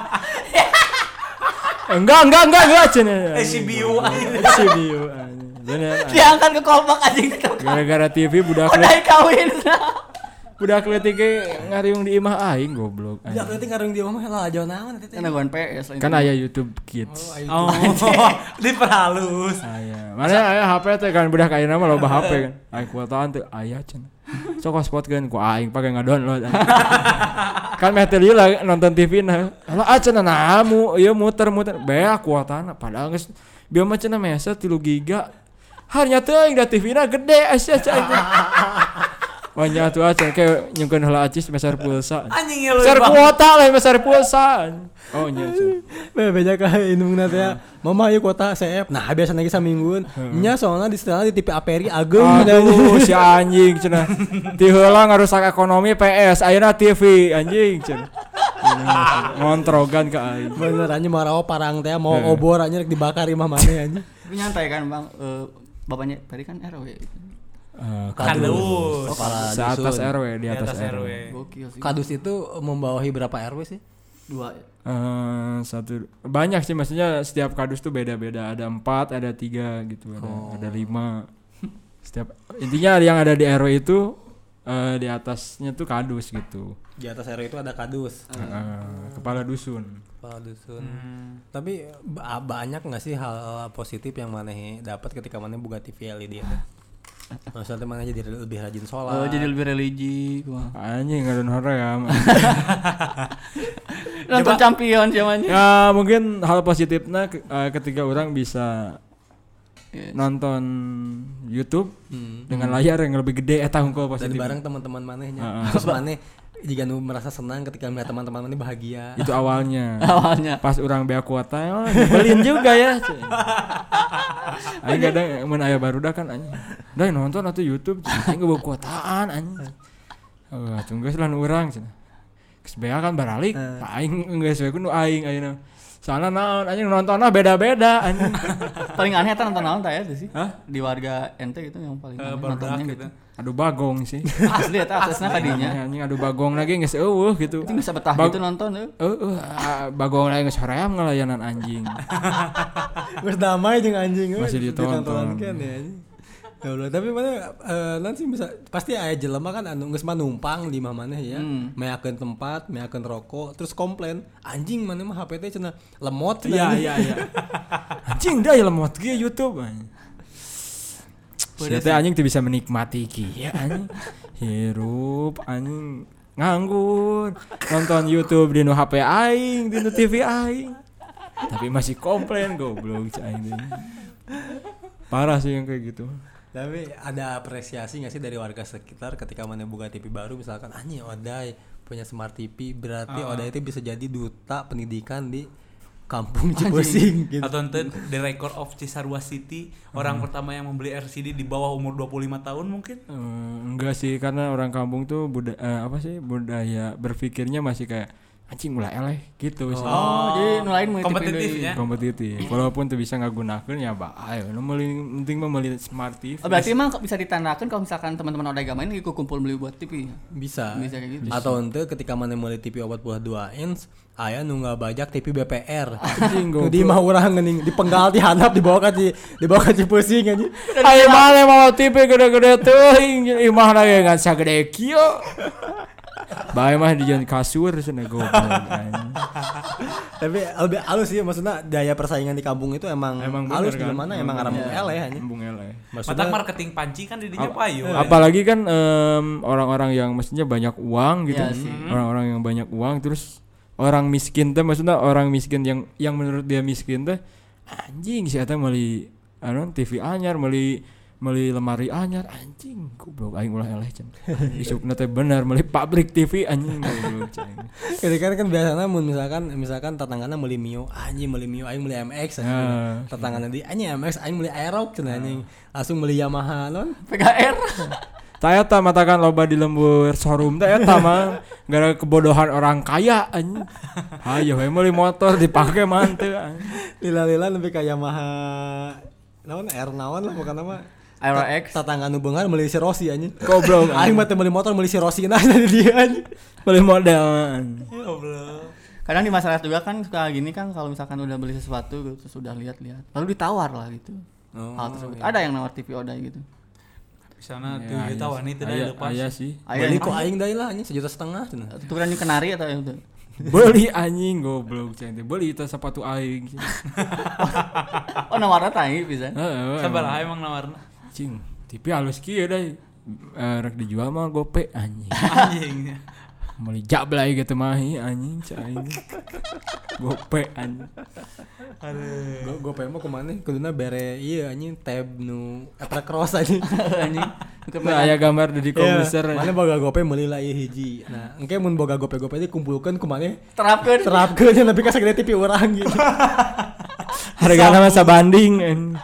Enggak cenah. CBU CBU anjing. Diangkat ke kolbak anjing. Gara-gara TV budak Udah kawin. Budak leutik ge ngariung di imah aing goblok. Ya berarti ngarung di omah lah aja naon teh. Kan nggon PS. Kan aya YouTube Kids. Oh, diperhalus. Aya. Mana aya HP teh kan budak ayeuna mah loba HP kan. Ai kuotaan teh aya cenah. Sok hotspot ku aing pake ngadownload. Kan meh teh lah nonton TV nah. Lah cenah namu ieu muter bea kuotana padahal geus bieu mah cenah mesa 3 giga. Harnya teuing da TV-na gede asa cai. Wanya tuh aja kayak nyungkeun heula acis besar pulsa. Anjing besar kuota lah besar pulsa. Oh nya. Beja ka indungna teh mama ieu kuota CF. Nah biasa lagi samingguan. Nya soalnya di setelah di TV Aperi ageng. Aduh si anjing cenah. Ti heula ngarusak ekonomi PS ayeuna TV anjing cenah. Ngontrogan ka aing. Bener anjing marawa parang teh mau obor anjing rek dibakar imah maneh anjing. Tapi nyantai kan Bang, bapaknya tadi kan RW. Kadus. Seatas RW di atas RW. Gokil sih. Kadus itu membawahi berapa RW sih? 2. Satu banyak sih maksudnya setiap kadus tuh beda-beda ada 4 ada 3 gitu ada 5 setiap intinya yang ada di RW itu di atasnya tuh kadus gitu Di atas RW itu ada kadus. Kepala dusun. Tapi banyak nggak sih hal positif yang maneh dapat ketika maneh buka TV LED itu? Maksudnya mana jadi lebih rajin sholat. Oh jadi lebih religi. Anjing ngadon hoream. Nonton champion zamannya. Ya mungkin hal positifnya ketika orang bisa nonton YouTube dengan layar yang lebih gede eta hungkul positif. Dan bareng teman-teman manehnya. Terus maneh jika nu merasa senang ketika melihat teman-teman maneh bahagia. Itu awalnya. Pas orang bea kuota nyebelin juga ya. Aing kadang mun aya barudak kan anjing. Da nonton atuh YouTube aing bawa kuotaan anjing. Tunggu lah urang cenah. Geus bea kan baralik, aing geus we ku nu aing ayeuna. Soalnya naon anjing nontonnya beda-beda anjing. Paling aneh eta nonton naon teh sih? Di warga ente gitu yang paling nontonnya gitu. Adu bagong sih. Asli eta aksesna kadinya. Anjing adu bagong lagi geus eueuh gitu. Itu bisa betah gitu nonton bagong lagi geus hoream ngelayanan anjing. Geus damai jeung anjing masih ditonton kan ya anjing. Ya Allah, tapi mana nanti bisa pasti aya jelema kan anu geus numpang di mah maneh ya. Meakeun tempat, meakeun rokok, terus komplain, anjing maneh mah HP teh cenah lemot. Iya. Anjing da ya lemot ge YouTube anjing. Saya anjing tuh bisa menikmati ya anjing. Hirup anjing nganggur nonton YouTube di nu HP aing, di nu TV aing. Tapi masih komplain goblok aing. Parah sih yang kayak gitu. Tapi ada apresiasi nggak sih dari warga sekitar ketika mana buka TV baru misalkan anjing Oday punya smart TV berarti Oday itu bisa jadi duta pendidikan di kampung Cipusing gitu. Atau ente The Record of Cisarua City orang pertama yang membeli RCD di bawah umur 25 tahun mungkin? Enggak sih karena orang kampung tuh budaya berpikirnya masih kayak anjing ulah eleh gitu sih. Jadi nulain kompetitif. Walaupun tuh bisa ngagunakeun ya bae. Nu penting mah meuli smart TV. Berarti emang bisa ditandakan kalau misalkan teman-teman Oday Gama ini ikut kumpul beli buat TV. Bisa kayak gitu. Atau ente ketika mana meuli TV 42 inch aya nu ngabajak TV BPR. Anjing goblok. Di mah urang geuning dipenggal dihandap dibawa ka Cipusing anjing. Aya mah mau TV gede-gede teuing imah na ge ngan sagede kieu. Bae mah di jalan kasur cenah goblok anjing. Tapi lebih halus sih maksudnya daya persaingan di kampung itu emang halus kan? Di mana emang arang eleh anjing. Embung eleh. Matak marketing panci kan di dinya payu. Apalagi kan orang-orang yang mestinya banyak uang gitu. Orang-orang yang banyak uang terus orang miskin teh maksudnya orang miskin yang menurut dia miskin teh anjing si eta meuli TV anyar meuli lemari anyar anjing goblok aing ulah eleh cenah. Isukna teh bener meuli pabrik TV anjing goblok cenah. Ketika kan biasana mun misalkan tetanggana meuli Mio, anjing meuli Mio aing meuli MX anjing. Tetanggana di anjing MX aing meuli Aerox cenah anjing. Langsung meuli Yamaha non PGR. Taya ta matakan loba di lembur showroom teh eta mah gara kebodohan orang kaya anjing. Hayo we meuli motor dipake mah teu anjing. Lila-lila nepi ka Yamaha naon R naon lah bukan nama Aerox. Tatangga nu beungar meuli si Rossi anjing. Goblok. Aing mah teh meuli motor meuli si Rossi nah di dia anjing. Meuli model anjing. Goblok. Kadang di masyarakat juga kan suka gini kan kalau misalkan udah beli sesuatu gitu sudah lihat-lihat lalu ditawar lah gitu. Hal tersebut. Ada yang nawar TV Oday gitu. Sana tuh kita wanita dah lepas. Aya sih. Beli ku aing deui lah anjing 1,5 juta cenah. Tukeran yang kenari atau yang itu? Beli anjing goblok cenah. Beli itu sepatu aing. Oh nawarna tah bisa. Sabaraha emang nawarna? Cing, TV halus kieu deui. Rek dijual mah gope anjing. Anjing. Meuli jablay gitu mah anjing aing. Gope anjing. Aduh. Gope mah kumaha kuduna bere ieu anjing tab nu Etra Cross anjing. Anjing. Nah, aya gambar di komputer. Mana boga gope meuli lah ieu hiji. Nah, engke mun boga gope-gope teh kumpulkeun kumaha terapkeun nepi ka sagede TV urang gitu. Hargana mah sabanding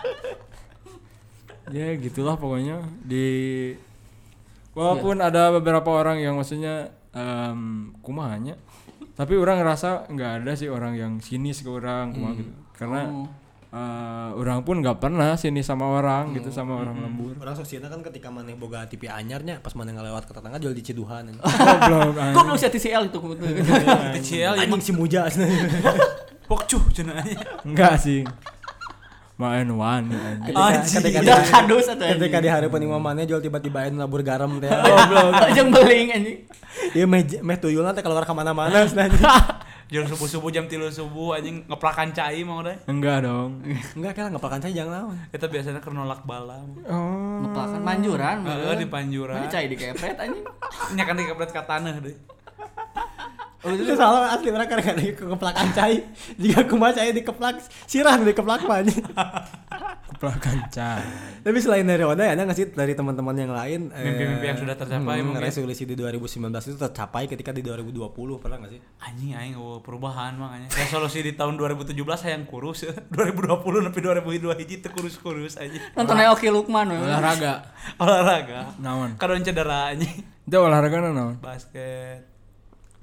ya gitulah pokoknya walaupun ada beberapa orang yang maksudnya kumahanya tapi orang ngerasa nggak ada sih orang yang sinis ke orang gitu karena orang pun nggak pernah sinis sama orang gitu sama orang lembur. Orang sosialnya kan ketika maneh boga TV anyarnya pas maneh ngalewat ke tetangga jual di Ciduhan. Goblok sih TCL itu. TCL anjing si Muja. Pokcuh cenah. Enggak sih. Main wani ketika kadus atau ketika di hari penima maneh jual tiba-tiba ayeuna labur garam teh. Goblok. Jeung beling anjing. Ieu meh tuyulna teh keluar ka mana-mana anjing. Jual subuh-subuh jam 3 subuh anjing ngeplakan cai mau deh. Enggak dong. Enggak kan ngeplakan cai jangan naon. Eta biasanya keur nolak bala. Oh. Ngeplakan manjuran. Di panjuran. Ini cai dikepret anjing. Nya kan dikepret ka tanah deh. Oh itu salah asli mereka kan keplakan cai. Jika kumaha cai dikeplak sirah dikeplak mah anjing. Keplakan cai. Tapi selain dari Oday ada enggak sih dari teman-teman yang lain mimpi-mimpi yang sudah tercapai mungkin resolusi di 2019 itu tercapai ketika di 2020 pernah enggak sih? Anjing aing perubahan makanya. Resolusi di tahun 2017 hayang kurus 2020 nepi 2002 hiji teu kurus-kurus anjing. Nonton Oki Lukman olahraga naon? Kadon cedera anjing. Itu olahraga naon? Basket.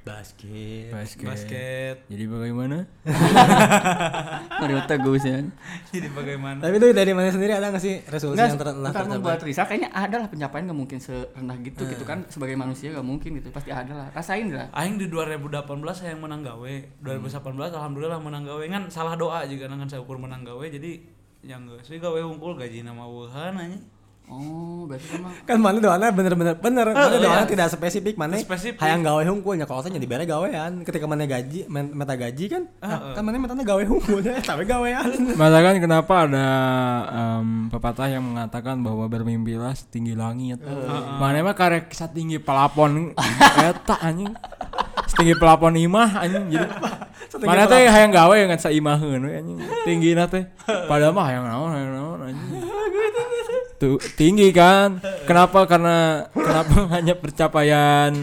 Basket. Jadi bagaimana? Mario Teguh sih. Jadi bagaimana? Tapi itu dari mana sendiri ada nggak sih resolusi yang telah membuat Risa kayaknya ada lah pencapaian nggak mungkin serendah gitu gitu kan sebagai manusia nggak mungkin gitu pasti ada lah rasain lah. Aing di 2018 saya yang menang gawe 2018 alhamdulillah menang gawe kan salah doa juga dengan saya ukur menang gawe jadi yang geus gawe hungkul gaji nama wuhan aja. Oh, berarti sama. Kan mana doana bener. Mana doana tidak spesifik mana. Hayang gawe hungkulnya kalau saya dibere gawean. Ketika mana gaji, meta gaji kan. Kan mana metana gawe hungkulnya, tapi gawean. Masa kan kenapa ada pepatah yang mengatakan bahwa bermimpilah setinggi langit. Mana mah karek satinggi pelapon eta anjing. Setinggi pelapon imah anjing jadi. Mana teh hayang gawe ngan saimaheun we anjing. Tinggina teh. Padahal mah hayang naon anjing. Tuh tinggi kan kenapa hanya pencapaian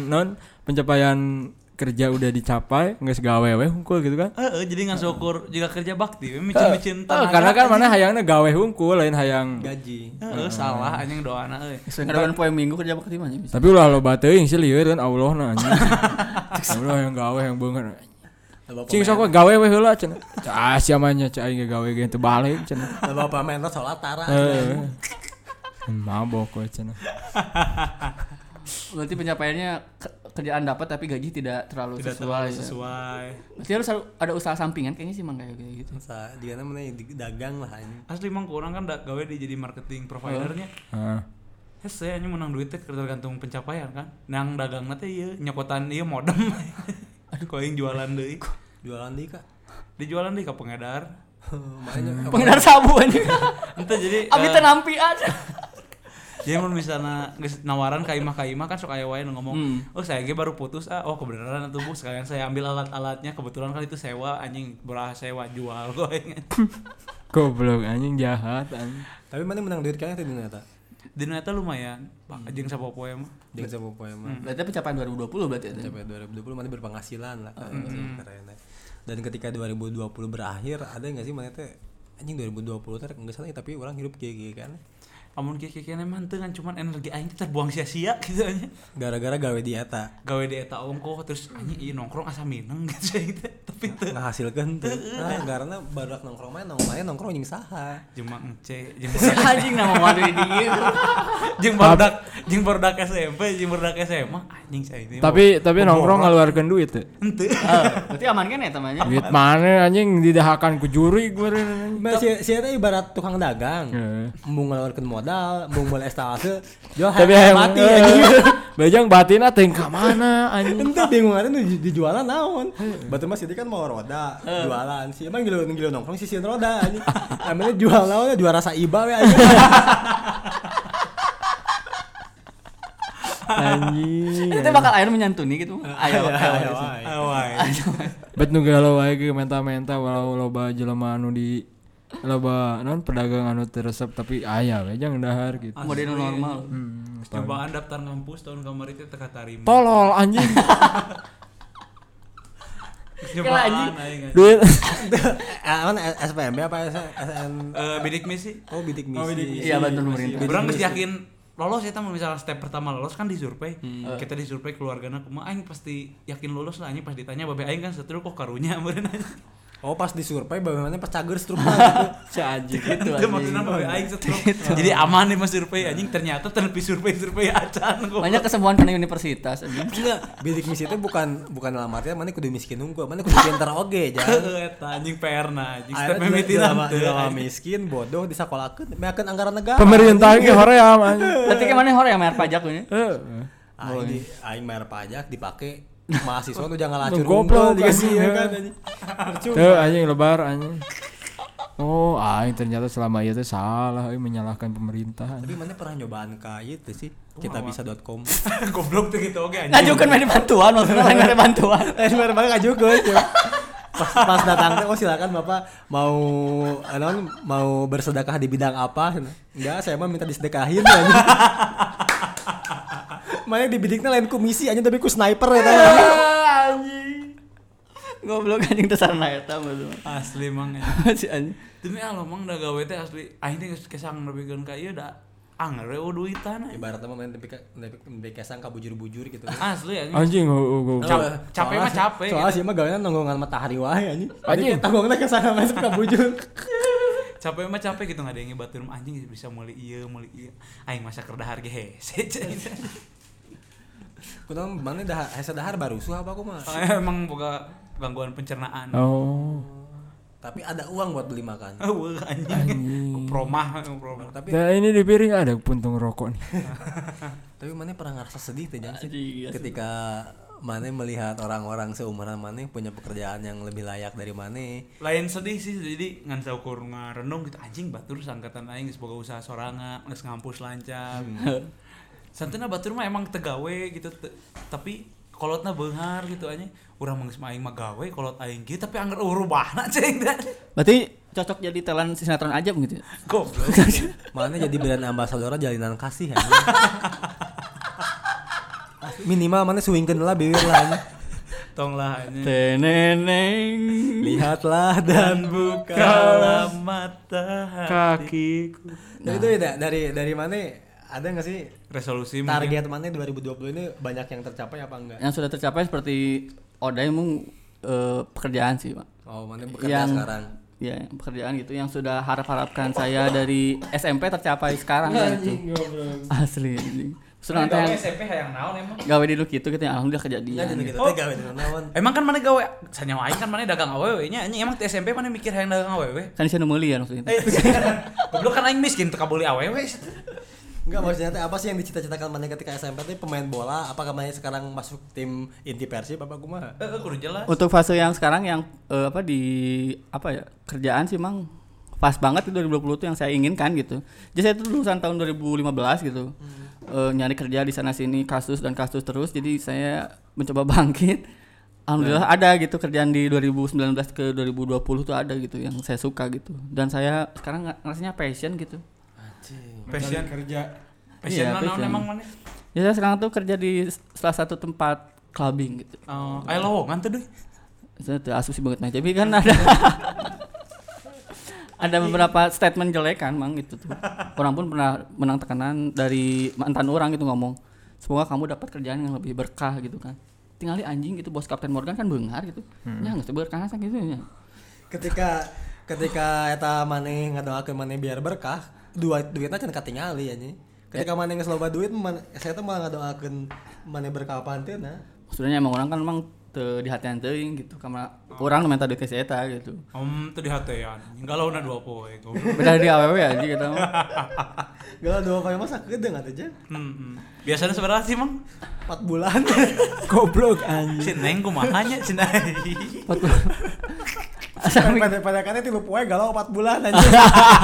kerja udah dicapai nggak segawe we hungkul gitu kan jadi nggak syukur juga kerja bakti micin karena kan mana hayangnya gawe hungkul lain hayang gaji salah anjing doana sekarang poe minggu kerja bakti mah bisa tapi ulah loba teuing sih lieur kan Allahna anjing Allah yang gawe yang beungeun cing sok gawe we heula cenah sia mah nya cai gawe ge teu balik cenah bapak main salat tara mabok we cenah. Berarti pencapaiannya kerjaan dapat tapi gaji tidak terlalu sesuai. Berarti harus ada usaha sampingan kayaknya sih mang kayak gitu. Usaha di mana mana dagang lah ini. Asli mang kurang kan gawe di jadi marketing providernya. Saya hanya menang duit teh tergantung pencapaian kan. Nang dagangna teh ieu nyokotan ieu modem. Aduh kok yang jualan deui. Jualan deui Kak. Dijualan deui ka pengedar. Pengedar sabu anjing. Ente jadi abi teh nampian. Jadi mun misalnya nawaran ka imah kan sok aya wae ngomong, "Oh, saya ge baru putus oh kebenaran atuh Bu, sekalian saya ambil alat-alatnya kebetulan kan itu sewa anjing, belah sewa jual kok." Goblok anjing jahat anjing. Tapi mana menang duit kayaknya di eta? Di eta lumayan, jeung sapopoe mah. Jeung sapopoe mah. Berarti pencapaian 2020 berarti ya. Pencapaian 2020 mana berpenghasilan lah keren. Dan ketika 2020 berakhir ada enggak sih mana teh anjing 2020 teh enggak salah tapi orang hidup kayak kan. Amun kieu-kieu mah teu kan cuman energi aing teh terbuang sia-sia gitu aja. Gara-gara gawe di eta. Gawe di eta ongkoh terus anjing ieu nongkrong asa mineng gitu teh. Tapi teu ngahasilkeun teu. Karena barudak nongkrong mah nongkrong jeung saha? Jeung Mang Ence, jeung anjing nama mah di dieu. Jeung barudak SMP, jeung barudak SMA anjing saya ini. Tapi nongkrong ngaluarkeun duit teh. Henteu. Berarti aman kan eta mah nya? Duit mana anjing didahakan ku juri gue. Si eta ibarat tukang dagang. Embung ngaluarkeun modal, embung boleh estalase, jual mati anjing. Bajang batina teh ka mana anjing. Ente bingung atuh dijualan naon. Batu mah sih kan mau roda, jualan sih. Emang gilo nongkrong sisian roda anjing. Amane jual naon jual rasa iba we anjing. Anjing. Itu bakal air menyantuni gitu. Ayo. Bet nu galau wae ge menta-menta walau loba jelema anu di loba non pedagang anu teresep tapi aya we jang dahar gitu. Model normal. Cobaan daftar ngampus tahun kamari teh teka tarima. Tolol anjing. Kela anjing. Duit. SPMB apa SN? Bidik misi. Oh, bidik misi. Iya bantu pemerintah. Urang geus yakin lolos eta misalnya step pertama lolos kan disurvei. Kita disurvei keluargana kumaha aing pasti yakin lulus lah anjing pas ditanya babe aing kan setruk kok karunya meureun aja. Oh pas disurvei bagaimana pas cager stroke gitu. Si anjing gitu anjing. Maksudna babe aing stroke. Jadi aman nih mas survei anjing ternyata tenepi survei acan kok. Banyak kesembuhan kana universitas anjing. Enggak, bidik misi itu bukan dalam artian mana kudu miskin unggul, mana kudu pinter oge jan. Eta anjing PR-na anjing step mimitinan teu. Miskin bodoh disakolakeun, meakeun anggaran negara. Pemerintah ge hoream anjing. Berarti ke mana hoream bayar pajak nya? Aing bayar pajak dipake mahasiswa tuh jangan lacur goblok dikasih ya kan anjing. Tuh anjing lebar anjing. Oh, aing ternyata selama itu salah menyalahkan pemerintah. Tapi mana pernah nyobaan ka ieu teh sih? Kitabisa.com. Goblok tuh gitu oge anjing. Ngajukeun mah bantuan maksudnya lain ada bantuan. Lain mah ngajukeun. Pas datang teh oh silakan Bapak mau bersedekah di bidang apa? Enggak, saya mah minta disedekahin anjing. Mana dibidiknya lain komisi aja tapi ku sniper ya anjing. Goblok anjing teh sarana eta mah. Asli mang si anjing. Demi Allah mang da gawe teh asli aing teh geus kesang nepikeun ka ieu da anger duitan. Ibaratnya mah main nepi kesang ka bujur-bujur gitu. Asli ya. Anjing Capek mah capek. Soalnya sih mah gawean nonggongan matahari wae anjing. Anjing tanggungna kesana masuk ka bujur. Capek mah capek gitu ngadenge batur anjing bisa meuli ieu aing masa keur dahar ge hese. Kunaon mana dah hese dahar barusuh apa aku mah. Emang boga gangguan pencernaan. Oh. Tapi ada uang buat beli makan. Anjing. Promah. Tapi nah ini di piring ada puntung rokok nih. Tapi mana pernah ngerasa sedih teh Jang sih ketika mana melihat orang-orang seumuran mana punya pekerjaan yang lebih layak dari mana. Lain sedih sih jadi ngan saukur ngarenung gitu anjing batur sangkatan aing geus boga usaha sorangan, geus ngampus lancar. Santuna batur mah emang tegawe gitu tapi kolotna beunghar gitu anjing. Urang mah geus aing mah gawe kolot aing kieu tapi anggar urubahna cing. Berarti cocok jadi talent sinetron aja gitu. Goblok. Mana jadi brand ambassador jalinan kasih anjing. Minimal mana suwingkeun lah bibir lah. Tonglah anjing. Teneneng Lihatlah dan bukalah mata Kakiku. Nah, itu ya dari mana ada enggak sih resolusi target mana 2020 ini banyak yang tercapai apa enggak? yang sudah tercapai seperti Oday emang pekerjaan sih Pak. Oh mana bekerja sekarang? Ya pekerjaan gitu yang sudah harapkan saya dari SMP tercapai sekarang gitu. Asli. Sudah nanti SMP hayang naon emang? gawe di lu gitu ya alhamdulillah kejadian. Gitu teh gawe di naon? Emang kan mana gawe sanyawa aing kan mana dagang awewe nya anjing emang di SMP mana mikir hayang dagang awewe? Kan saya meuli ya maksudnya. Goblok kan aing miskin teu kabeli awewe. Enggak maksudnya teh apa sih yang dicita-citakan mana ketika SMP teh pemain bola apakah mana sekarang masuk tim inti Persib apa kumaha? Kudu jelas. Untuk fase yang sekarang yang kerjaan sih emang pas banget itu 2020 tuh yang saya inginkan gitu. Jadi saya tuh lulusan tahun 2015 gitu. Nyari kerja di sana sini kasus terus jadi saya mencoba bangkit. Alhamdulillah ada gitu kerjaan di 2019 ke 2020 tuh ada gitu yang saya suka gitu. Dan saya sekarang rasanya passion gitu. Passion kerja. Passion Iya, naon passion. emang mana? Ya saya sekarang tuh kerja di salah satu tempat clubbing gitu. Aya lowongan tuh deh. Saya tuh asusi banget nah. Tapi kan ada beberapa statement jelek kan mang gitu tuh. Orang pun pernah menang tekanan dari mantan orang gitu ngomong, semoga kamu dapat kerjaan yang lebih berkah gitu kan. Tinggali anjing gitu bos Kapten Morgan kan beunghar gitu. Ya geus berkah asa gitu nya. Ketika eta maneh ngadoakeun maneh biar berkah, duitna can katingali anjing. Ketika maneh geus loba duit, saya teh malah ngadoakeun maneh berkah panteuna. Maksudnya emang orang kan emang teu dihatian teuing gitu karena urang minta duit ke si eta gitu. Teu dihatean. Galauna 2 poe goblok. Beda di awewe anjing kita mah. Galau 2 poe mah sakedeung atuh Jen. Biasanya seberapa sih, Mang? 4 bulan. Goblok anjing. Si Neng kumaha nya cenah. Pada katanya 3 poe galau 4 bulan anjing.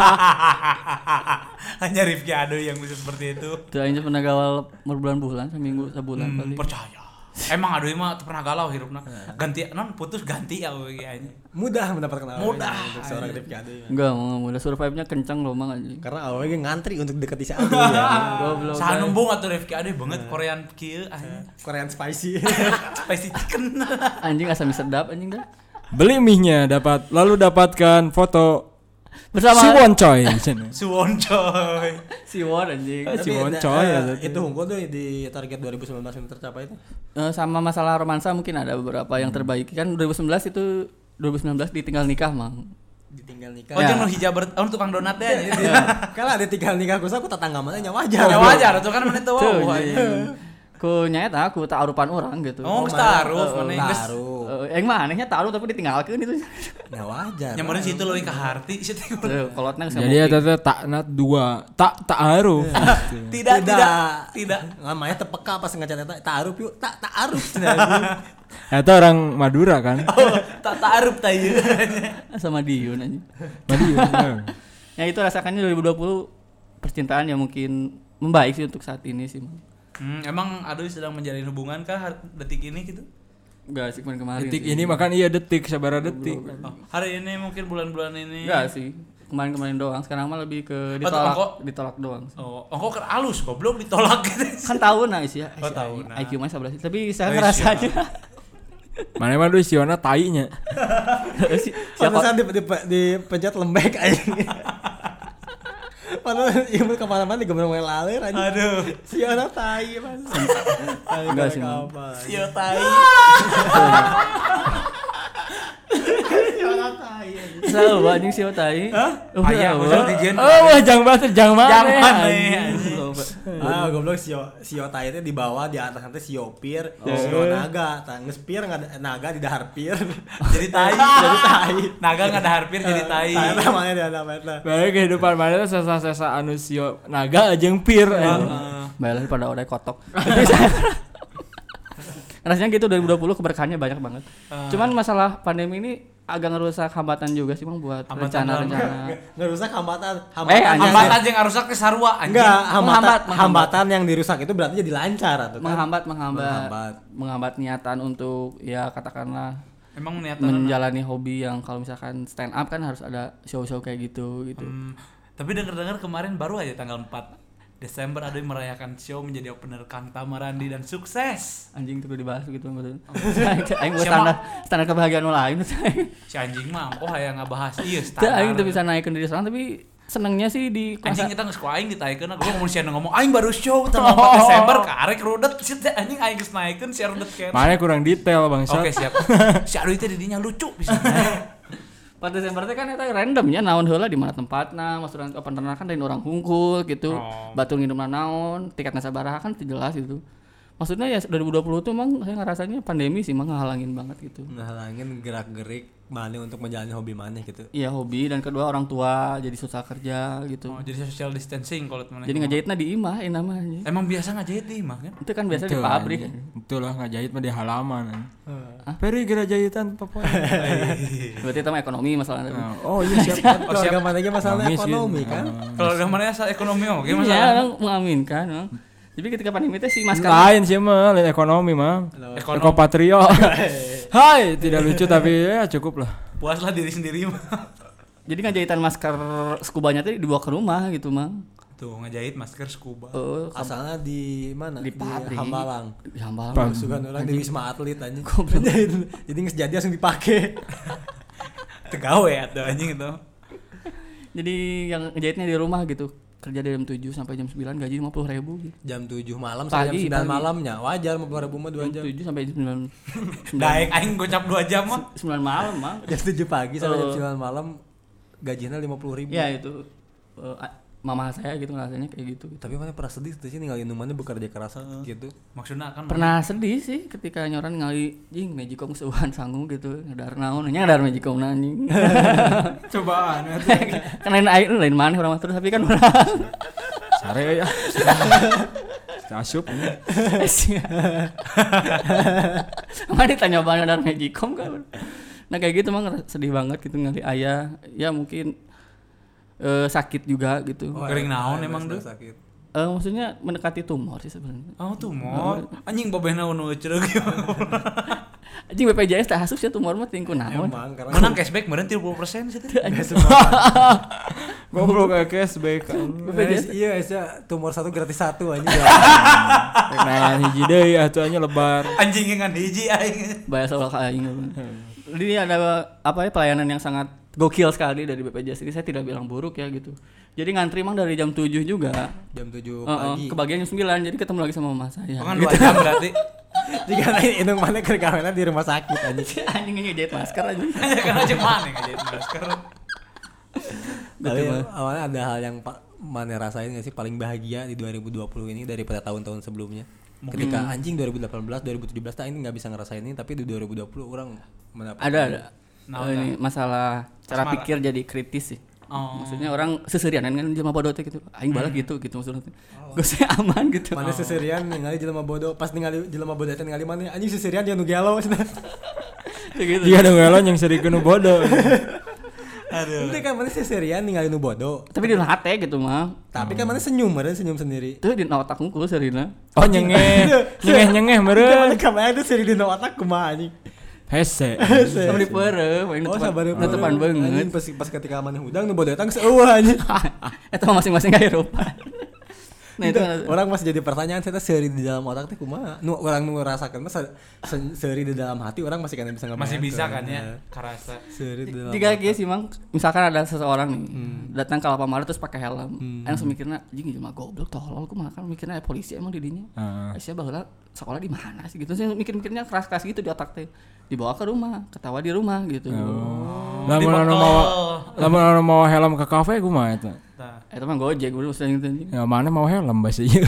Hanya Rifki Ado yang bisa seperti itu. Tuh aing pernah galau berbulan-bulan seminggu sebulan paling. Percaya. Emang Ado mah pernah galau hirupna. Ganti putus ganti ya we anjing. Mudah mendapatkan awewe Mudah. untuk seorang Rifki Ado. Enggak, udah survive-nya kencang loh mang anjing. Karena awewe ngantri untuk deketi si Ado ya. Goblok. Saha numbung atuh Rifki Ado banget Korean kieu anjing. Korean spicy. Spicy chicken. Anjing asam sedap anjing dah. Beli mie-nya lalu dapatkan foto Bersama si Woncoy. Suwon coy. Siwon anjing. Si Woncoy ya. Itu unggul tuh di target 2019 yang tercapai itu. Sama masalah romansa mungkin ada beberapa yang terbaik kan 2019 ditinggal nikah mang. Ditinggal nikah. Oh jeung nu hijab tukang donat teh. Kalau ada tinggal nikah ku tetangga mana nya wajar. Ya wajar atuh kan mana teu wau. Ku nyaeta aku ta'arupan orang gitu. Oh, geus ta'aruf maneh geus. Mah anehnya ta'aruf tapi ditinggalkeun itu. Ya wajar. Nya meureun situ leuwih ka harti situ. Kolotna geus. Jadi eta teh taknat 2. Ta'aruf. Tidak. Namanya tepeka pas ngacat eta ta'aruf yuk. Ta'aruf. Eta orang Madura kan. Ta'aruf ta ieu. Sama Diun anjing. Madura. Ya itu rasakannya 2020 percintaan yang mungkin membaik sih untuk saat ini sih. Emang Aduh sedang menjalin hubungan kah detik ini gitu? Enggak sih kemarin. Detik ini makan iya detik sabaraha detik. Hari ini mungkin bulan-bulan ini. Enggak sih. Kemarin doang. Sekarang mah lebih ke ditolak doang. Oh, engko keur alus goblok ditolak gitu. Kan tahu nah sih ya. Oh, tahu nah. IQ mah 11. Tapi saya ngerasanya Mana mah duh siona tai nya. Pantesan dipencet lembek anjing. Padahal ieu kemana-mana digembrong wae laler anjing. Aduh. Siona tai Mas. Enggak sih. Sio tai. Siona tai. Salah anjing sio tai. Hah? Aya bener dijen. Oh, jang banget jang mana. Ah, goblok sio tai teh di bawah, di atas nanti sio pir, sio naga. Tah geus pir naga di dahar pir. Jadi tai. Naga ngadahar pir jadi tai. Tai namanya dia namanya. Bae kehidupan mana teh sesa-sesa anu sio naga jeung pir. Bae pada odai kotok. Rasanya gitu 2020 keberkahannya banyak banget. Cuman masalah pandemi ini agak ngerusak hambatan juga sih Bang buat rencana-rencana. Ngerusak hambatan Hambatan jeung ngarusak ke sarua anjing. Enggak, hambatan yang dirusak itu berarti jadi lancar atau kan? Menghambat niatan untuk ya katakanlah emang niatan menjalani hobi yang kalau misalkan stand up kan harus ada show-show kayak gitu. Tapi dengar-dengar kemarin baru aja tanggal 4 Desember ada yang merayakan show menjadi opener Kang Tamarandi dan sukses. Anjing itu dibahas gitu betul. Aing buat standar kebahagiaan lain. Si anjing mah oh aya ngabahas ieu standar. Aing teu bisa naikeun diri sorangan tapi senengnya sih di anjing kita geus ku aing ditaikeun gua ngomong sia ngomong aing baru show tanggal 4 Desember karek rudet si anjing aing geus naikeun sia rudet kan. Mana kurang detail Bang. Oke siap. Si Aduh teh didinya lucu bisa. 4 Desember teh kan eta randomnya naon heula di mana tempatna, maksudna open kan dari orang hungkul gitu. Batur ngidupna naon, tiketna sabaraha kan jelas gitu. Maksudnya ya 2020 tuh emang saya ngerasanya pandemi sih emang ngehalangin banget gitu. Ngehalangin gerak-gerik mana untuk menjalani hobi mana gitu. Iya hobi dan kedua orang tua jadi susah kerja gitu. Oh jadi social distancing kalau teman. Jadi ngajahitna di imah namanya. Emang biasa ngajahit di imah kan? Itu kan biasa di pabrik. Betul lah ngajahit mah di halaman. Peri geura jahitan pokoknya. Berarti itu mah ekonomi masalahnya. Oh iya siap. Keluarga mana ge masalah ekonomi kan. Keluarga mana asal ekonomi oke masalah. Iya, mengaminkan. Jadi ketika pandemi itu si masker lain sih mah lain ekonomi mah. Ekopatrio. Hai, tidak lucu tapi ya cukup lah. Puaslah diri sendiri mah. Jadi ngajahitan masker skubanya tadi dibawa ke rumah gitu, Mang. Tuh ngajahit masker scuba. Asalnya di mana? Di pabrik. Hambalang. Di Hambalang. Sugan orang di Wisma Atlet anjing. Jadi geus jadi langsung dipake. Tegawe atuh anjing itu. Jadi yang ngejahitnya di rumah gitu. Kerja dari jam 7 sampai jam 9 gaji 50.000 gitu. Jam 7 malam sampai jam 9 malamnya. Wajar 50.000 mah 2 jam. 7 sampai jam 9. Daek aing gocap 2 jam mah. 9 malam, Mang. Jam 7 pagi sampai jam 9 malam gajinya 50.000. Ya itu mama saya gitu rasanya kayak gitu. Tapi mana pernah sedih sih ninggalin rumahnya bekerja keras gitu. Maksudnya kan pernah sedih sih ketika nyoran ngali jing Magicom seueuhan sanggung gitu ngadar naon nya ngadar Magicom anjing. Cobaan kan lain maneh urang terus tapi kan urang sare ya. Asup ini. Mana ditanya banget ngadar Magicom kan. Nah kayak gitu mah sedih banget gitu ngali ayah ya mungkin sakit juga gitu. Kering naon emang tuh? Sakit. Maksudnya mendekati tumor sih sebenarnya. Oh, tumor. Anjing babehna nu ceureuh gimana. Anjing BPJS teh asup sih tumor mah tingku naon. Menang cashback meureun 30% sih teh. Goblok cashback. BPJS iya tumor 1 gratis 1 anjing. Nah, hiji deui atuh nya lebar. Anjing ngan hiji aing. Bayar soal ka aing. Jadi ada apa ya pelayanan yang sangat gokil sekali dari BPJS ini saya tidak bilang buruk ya gitu. Jadi ngantri emang dari jam 7 juga. Jam 7 pagi. Kebagian jam 9 jadi ketemu lagi sama mama saya. Kan 2 jam berarti. Jika indung mana keur gaweana di rumah sakit anjing. Anjing ngejahit masker anjing. Karena cuma mana ngejahit masker. Tapi awalnya ada hal yang mana rasain enggak sih paling bahagia di 2020 ini daripada tahun-tahun sebelumnya? Ketika anjing 2018, 2017 ini enggak bisa ngerasain ini tapi di 2020 orang mendapat ada. Ini masalah cara pikir jadi kritis sih. Maksudnya orang seserianan kan jelema bodoh teh gitu. Aing balas gitu maksudnya. Gue saya aman gitu. Mana seserian ningali jelema bodoh, pas ningali jelema bodoh teh ningali mana anjing seserian dia nu gelo cenah. Gitu. Dia nu gelo yang serikeun nu bodoh. Aduh. Itu kan mana seserian ningali nu bodoh. Tapi di hate gitu mah. Tapi kan mana senyum sendiri. Tuh di otak hungkul serina. Oh nyengeh meureun. Mana kamera itu seri di otak kumaha anjing. Hese. Sama di peureuh, main tepan banget. Pas ketika mana hudang nu bodoh tang seueuh anjing. Eta masing-masing gaya rupa. Nah itu orang masih jadi pertanyaan saya seuri di dalam otak teh kumaha. Nu orang nu ngerasakeun mah seuri di dalam hati orang masih kan bisa ngabayangkeun. Masih bisa kan ya karasa. Seuri di dalam. Jika kieu sih Mang, misalkan ada seseorang nih datang ke Alfamart terus pakai helm. Langsung mikirna anjing cuma goblok tolol kumaha kan mikirnya polisi emang di dinya. Sia baheula sekolah di mana sih gitu. Saya mikir-mikirnya keras-keras gitu di otak teh. Dibawa ke rumah, ketawa di rumah gitu. Lamun mau helm ke kafe kumaha eta? Eta mah Gojek udah usah gitu anjing. Ya mana mau helm bahasa ieu.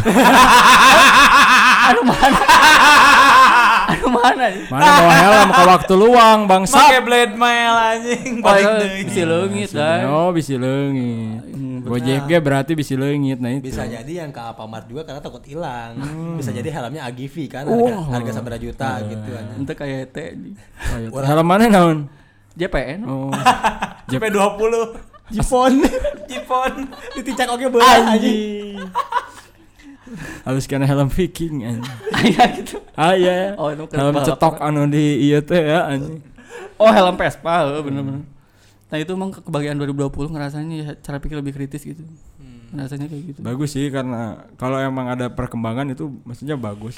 Aduh mana? Mana mau helm ke waktu luang bangsa. Make blade mail anjing balik deui. Bisi leungit dah. Oh, bisi leungit. Gojek ge berarti bisi leungit nah itu. Bisa jadi yang ke Alfamart juga karena takut hilang. Bisa jadi helmnya Agivi kan harga sabaraha juta gitu anjing. Ente kayak teh anjing. Helm mana naon? JPN. Oh. JP20. Jipon diticak oke beula anjing. Halus kana helm Viking anjing. Aya gitu. Aya. Oh, itu helm cetok anu di ieu teh ya anjing. Oh, helm Vespa, bener-bener. Nah, itu emang kebagian 2020 ngerasanya ya, cara pikir lebih kritis gitu. Ngerasanya kayak gitu. Bagus sih karena kalau emang ada perkembangan itu maksudnya bagus.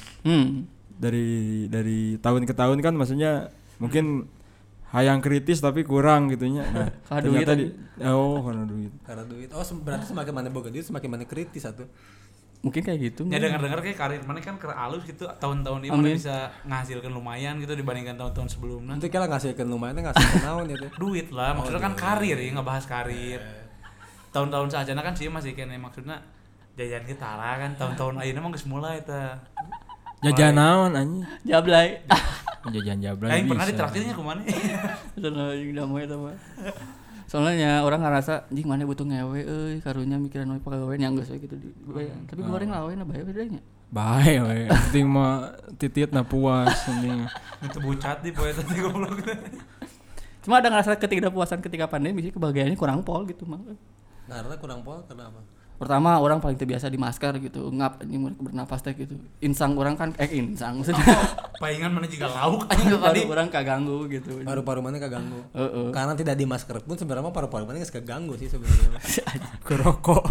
Dari tahun ke tahun kan maksudnya mungkin hayang kritis tapi kurang gitunya. Nah, ternyata karena duit. Karena duit. Oh, berarti semakin mana boga duit semakin mana kritis atuh. Mungkin kayak gitu. Ya dengar-dengar kayak karir mana kan alus gitu tahun-tahun ini mana bisa ngasilkan lumayan gitu dibandingkan tahun-tahun sebelumnya. Nanti kala ngasilkan lumayan ngasilkan naon ya teh. Duit lah, maksudnya kan karir ya ngebahas karir. Tahun-tahun sajana kan sih masih kene maksudnya jajan kita lah kan tahun-tahun ayeuna mah geus mulai eta. Jajan naon anjing? Jablay. Jajan jablay. Aing pernah ditraktirnya kumaha? Anjing da moe eta mah. Soalnya orang ngerasa anjing mana butuh ngewe euy karunya mikiran we pagawean yang geus we gitu di. Tapi goreng lawean bae bedanya. Bae we. Penting mah tititna puas anjing. Itu bucat di poe tadi goblok. Cuma ada ngerasa ketidakpuasan ketika pandemi sih kebahagiaannya kurang pol gitu mah. Karena kurang pol kenapa? Pertama orang paling terbiasa di masker gitu, ngap anjing mereka bernapas teh gitu. Insang orang kan insang maksudnya. Palingan mana juga lauk anjing tadi. Orang kaganggu gitu. Paru-paru mana kaganggu. Karena tidak di masker pun sebenarnya paru-paru mana geus kaganggu sih sebenarnya. Kerokok.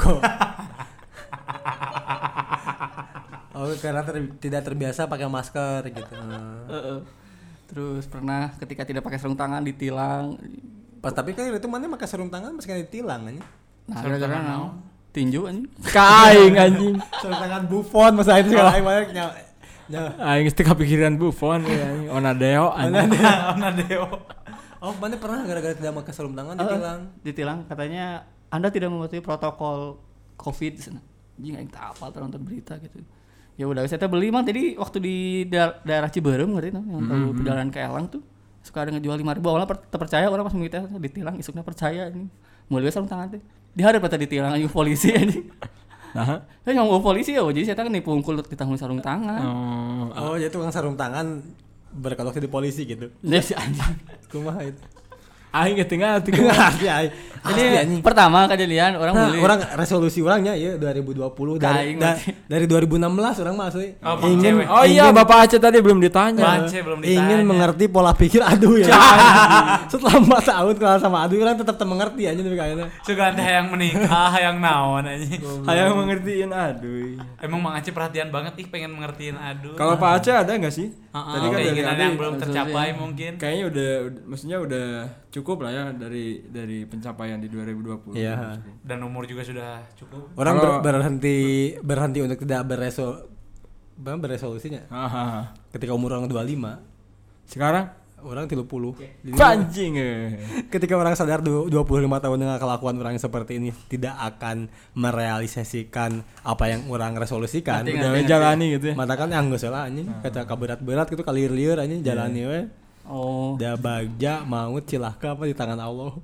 Oh, karena tidak terbiasa pakai masker gitu. Terus pernah ketika tidak pakai sarung tangan ditilang. Pas tapi kan itu mana pakai sarung tangan masih kan ditilang anjing. Nah, gara-gara naon? Tinju anjing. Kaing anjing. Sarung tangan Buffon masa itu segala aing banyak nya. Aing teh kepikiran Buffon ya anjing. Onadeo anjing. Onadeo. Oh, mana pernah gara-gara tidak pakai sarung tangan ditilang? Ditilang katanya Anda tidak mematuhi protokol Covid di sana. Anjing aing tak hafal nonton berita gitu. Ya udah saya beli mah tadi waktu di daerah Ciberem ngerti yang tahu perjalanan ke Elang tuh suka ada ngejual 5.000 awalnya terpercaya orang pas mengikuti ditilang isuknya percaya ini mulai sarung tangan teh diharap pada ditilang aja polisi anjing. Nah, kan yang polisi ya jadi saya kan dipungkul ditanggung sarung tangan. Oh, jadi tukang sarung tangan berkelok di polisi gitu. Ya si anjing. Kumaha itu? Aing ketinggal Asli aing. Jadi pertama kejadian orang beli. Orang resolusi orangnya ya 2020 dari 2016 orang mah asli. Iya Bapak Aceh tadi belum ditanya. Ingin mengerti pola pikir Adu ya. Setelah 4 tahun kenal sama Adu orang tetap mengerti anjing tapi kayaknya. Sugan teh hayang menikah, hayang naon anjing. Hayang mengertiin Adu. Emang Mang Aceh perhatian banget pengen mengertiin Adu. Kalau Pak Aceh ada enggak sih? Tadi kan keinginan yang belum tercapai mungkin. Kayaknya udah cukup lah ya dari pencapaian di 2020. Iya. Dan umur juga sudah cukup. Orang berhenti untuk tidak beresolusinya. Ketika umur orang 25. Sekarang orang 30. Anjing. Ketika orang sadar 25 tahun dengan kelakuan orang seperti ini tidak akan merealisasikan apa yang orang resolusikan. Udah jalani gitu ya. Mata kan yang geus lah anjing. Kata berat-berat gitu kalir-lieur anjing jalani we. Oh. Da bagja maut cilaka apa di tangan Allah.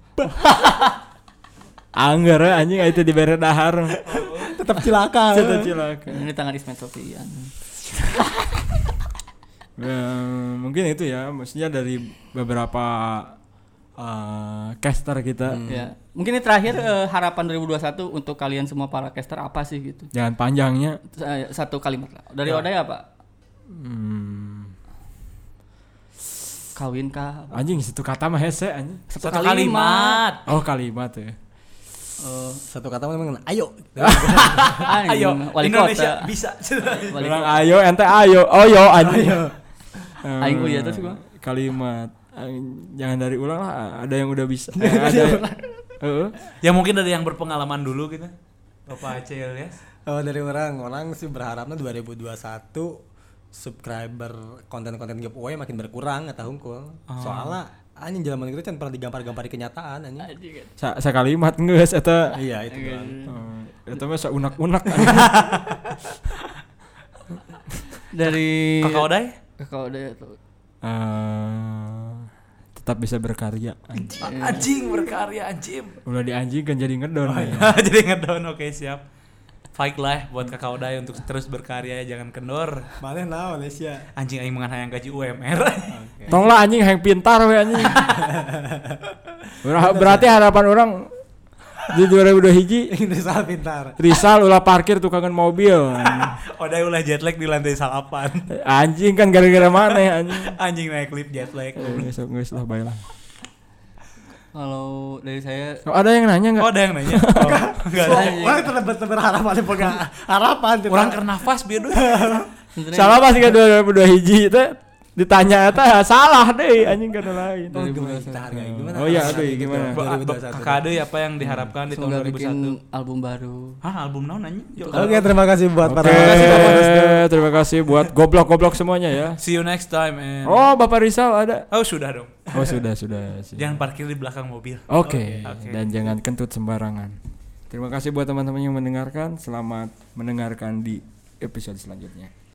Angger anjing itu dibere dahar. Tetap cilaka. Ini tangan Ismail Sofian. Mungkin itu ya, maksudnya dari beberapa caster kita. Ya. Mungkin ini terakhir harapan 2021 untuk kalian semua para caster apa sih gitu? Jangan panjangnya. Satu kalimat lah. Dari Oday apa? Kawin kah? Anjing satu kata mah hese anjing. Satu kalimat. Oh kalimat ya. Satu kata memang ayo. Ayo, wali Indonesia kota. bisa. Bilang ayo, ente ayo. Oh yo anjing. Aing kuliah terus gua. Kalimat jangan dari ulang lah, ada yang udah bisa. Ada. Ya mungkin dari yang berpengalaman dulu gitu. Bapak Aceh ya. Oh, dari orang sih berharapnya 2021 subscriber konten-konten giveaway makin berkurang eta hungkul. Soalnya anjing zaman itu kan pernah digampar-gampari kenyataan anjing. Sa kalimat geus eta. Iya, itu doang. Eta mah saunak-unak. Dari Kakak Oday tuh. Tetap bisa berkarya. Anjing berkarya anjing. Ulah dianjingkan jadi ngedon. Jadi ngedon, oke siap. Fight lah buat Kakak Oday untuk terus berkarya, jangan kendor. Mana naon Indonesia? Anjing aing mangan hayang gaji UMR. Tonglah anjing hayang pintar we anjing. Berarti harapan orang di 2021 Rizal pintar. Rizal ulah parkir tukangan mobil. Oday ulah jet lag di lantai 8. Anjing kan gara-gara mana ya anjing. Anjing naik lift jet lag. Geus lah bae lah. Kalau dari saya Ada yang nanya enggak? Oh, ada yang nanya. Enggak ada. Wah, tetap berharapan boga harapan. Orang keur nafas bieu. Salah pasti kan 2002 teh ditanya eta salah deh anjing kana lain. Oh iya aduh gimana? Kakak Ade apa yang diharapkan di tahun 2021? Album baru. Hah, album naon anjing? Oke, terima kasih buat para terima kasih buat goblok-goblok semuanya ya. See you next time and Oh, Bapak Rizal ada. Oh, sudah dong. Oh, sudah. Jangan parkir di belakang mobil. Oke. Dan jangan kentut sembarangan. Terima kasih buat teman-teman yang mendengarkan. Selamat mendengarkan di episode selanjutnya.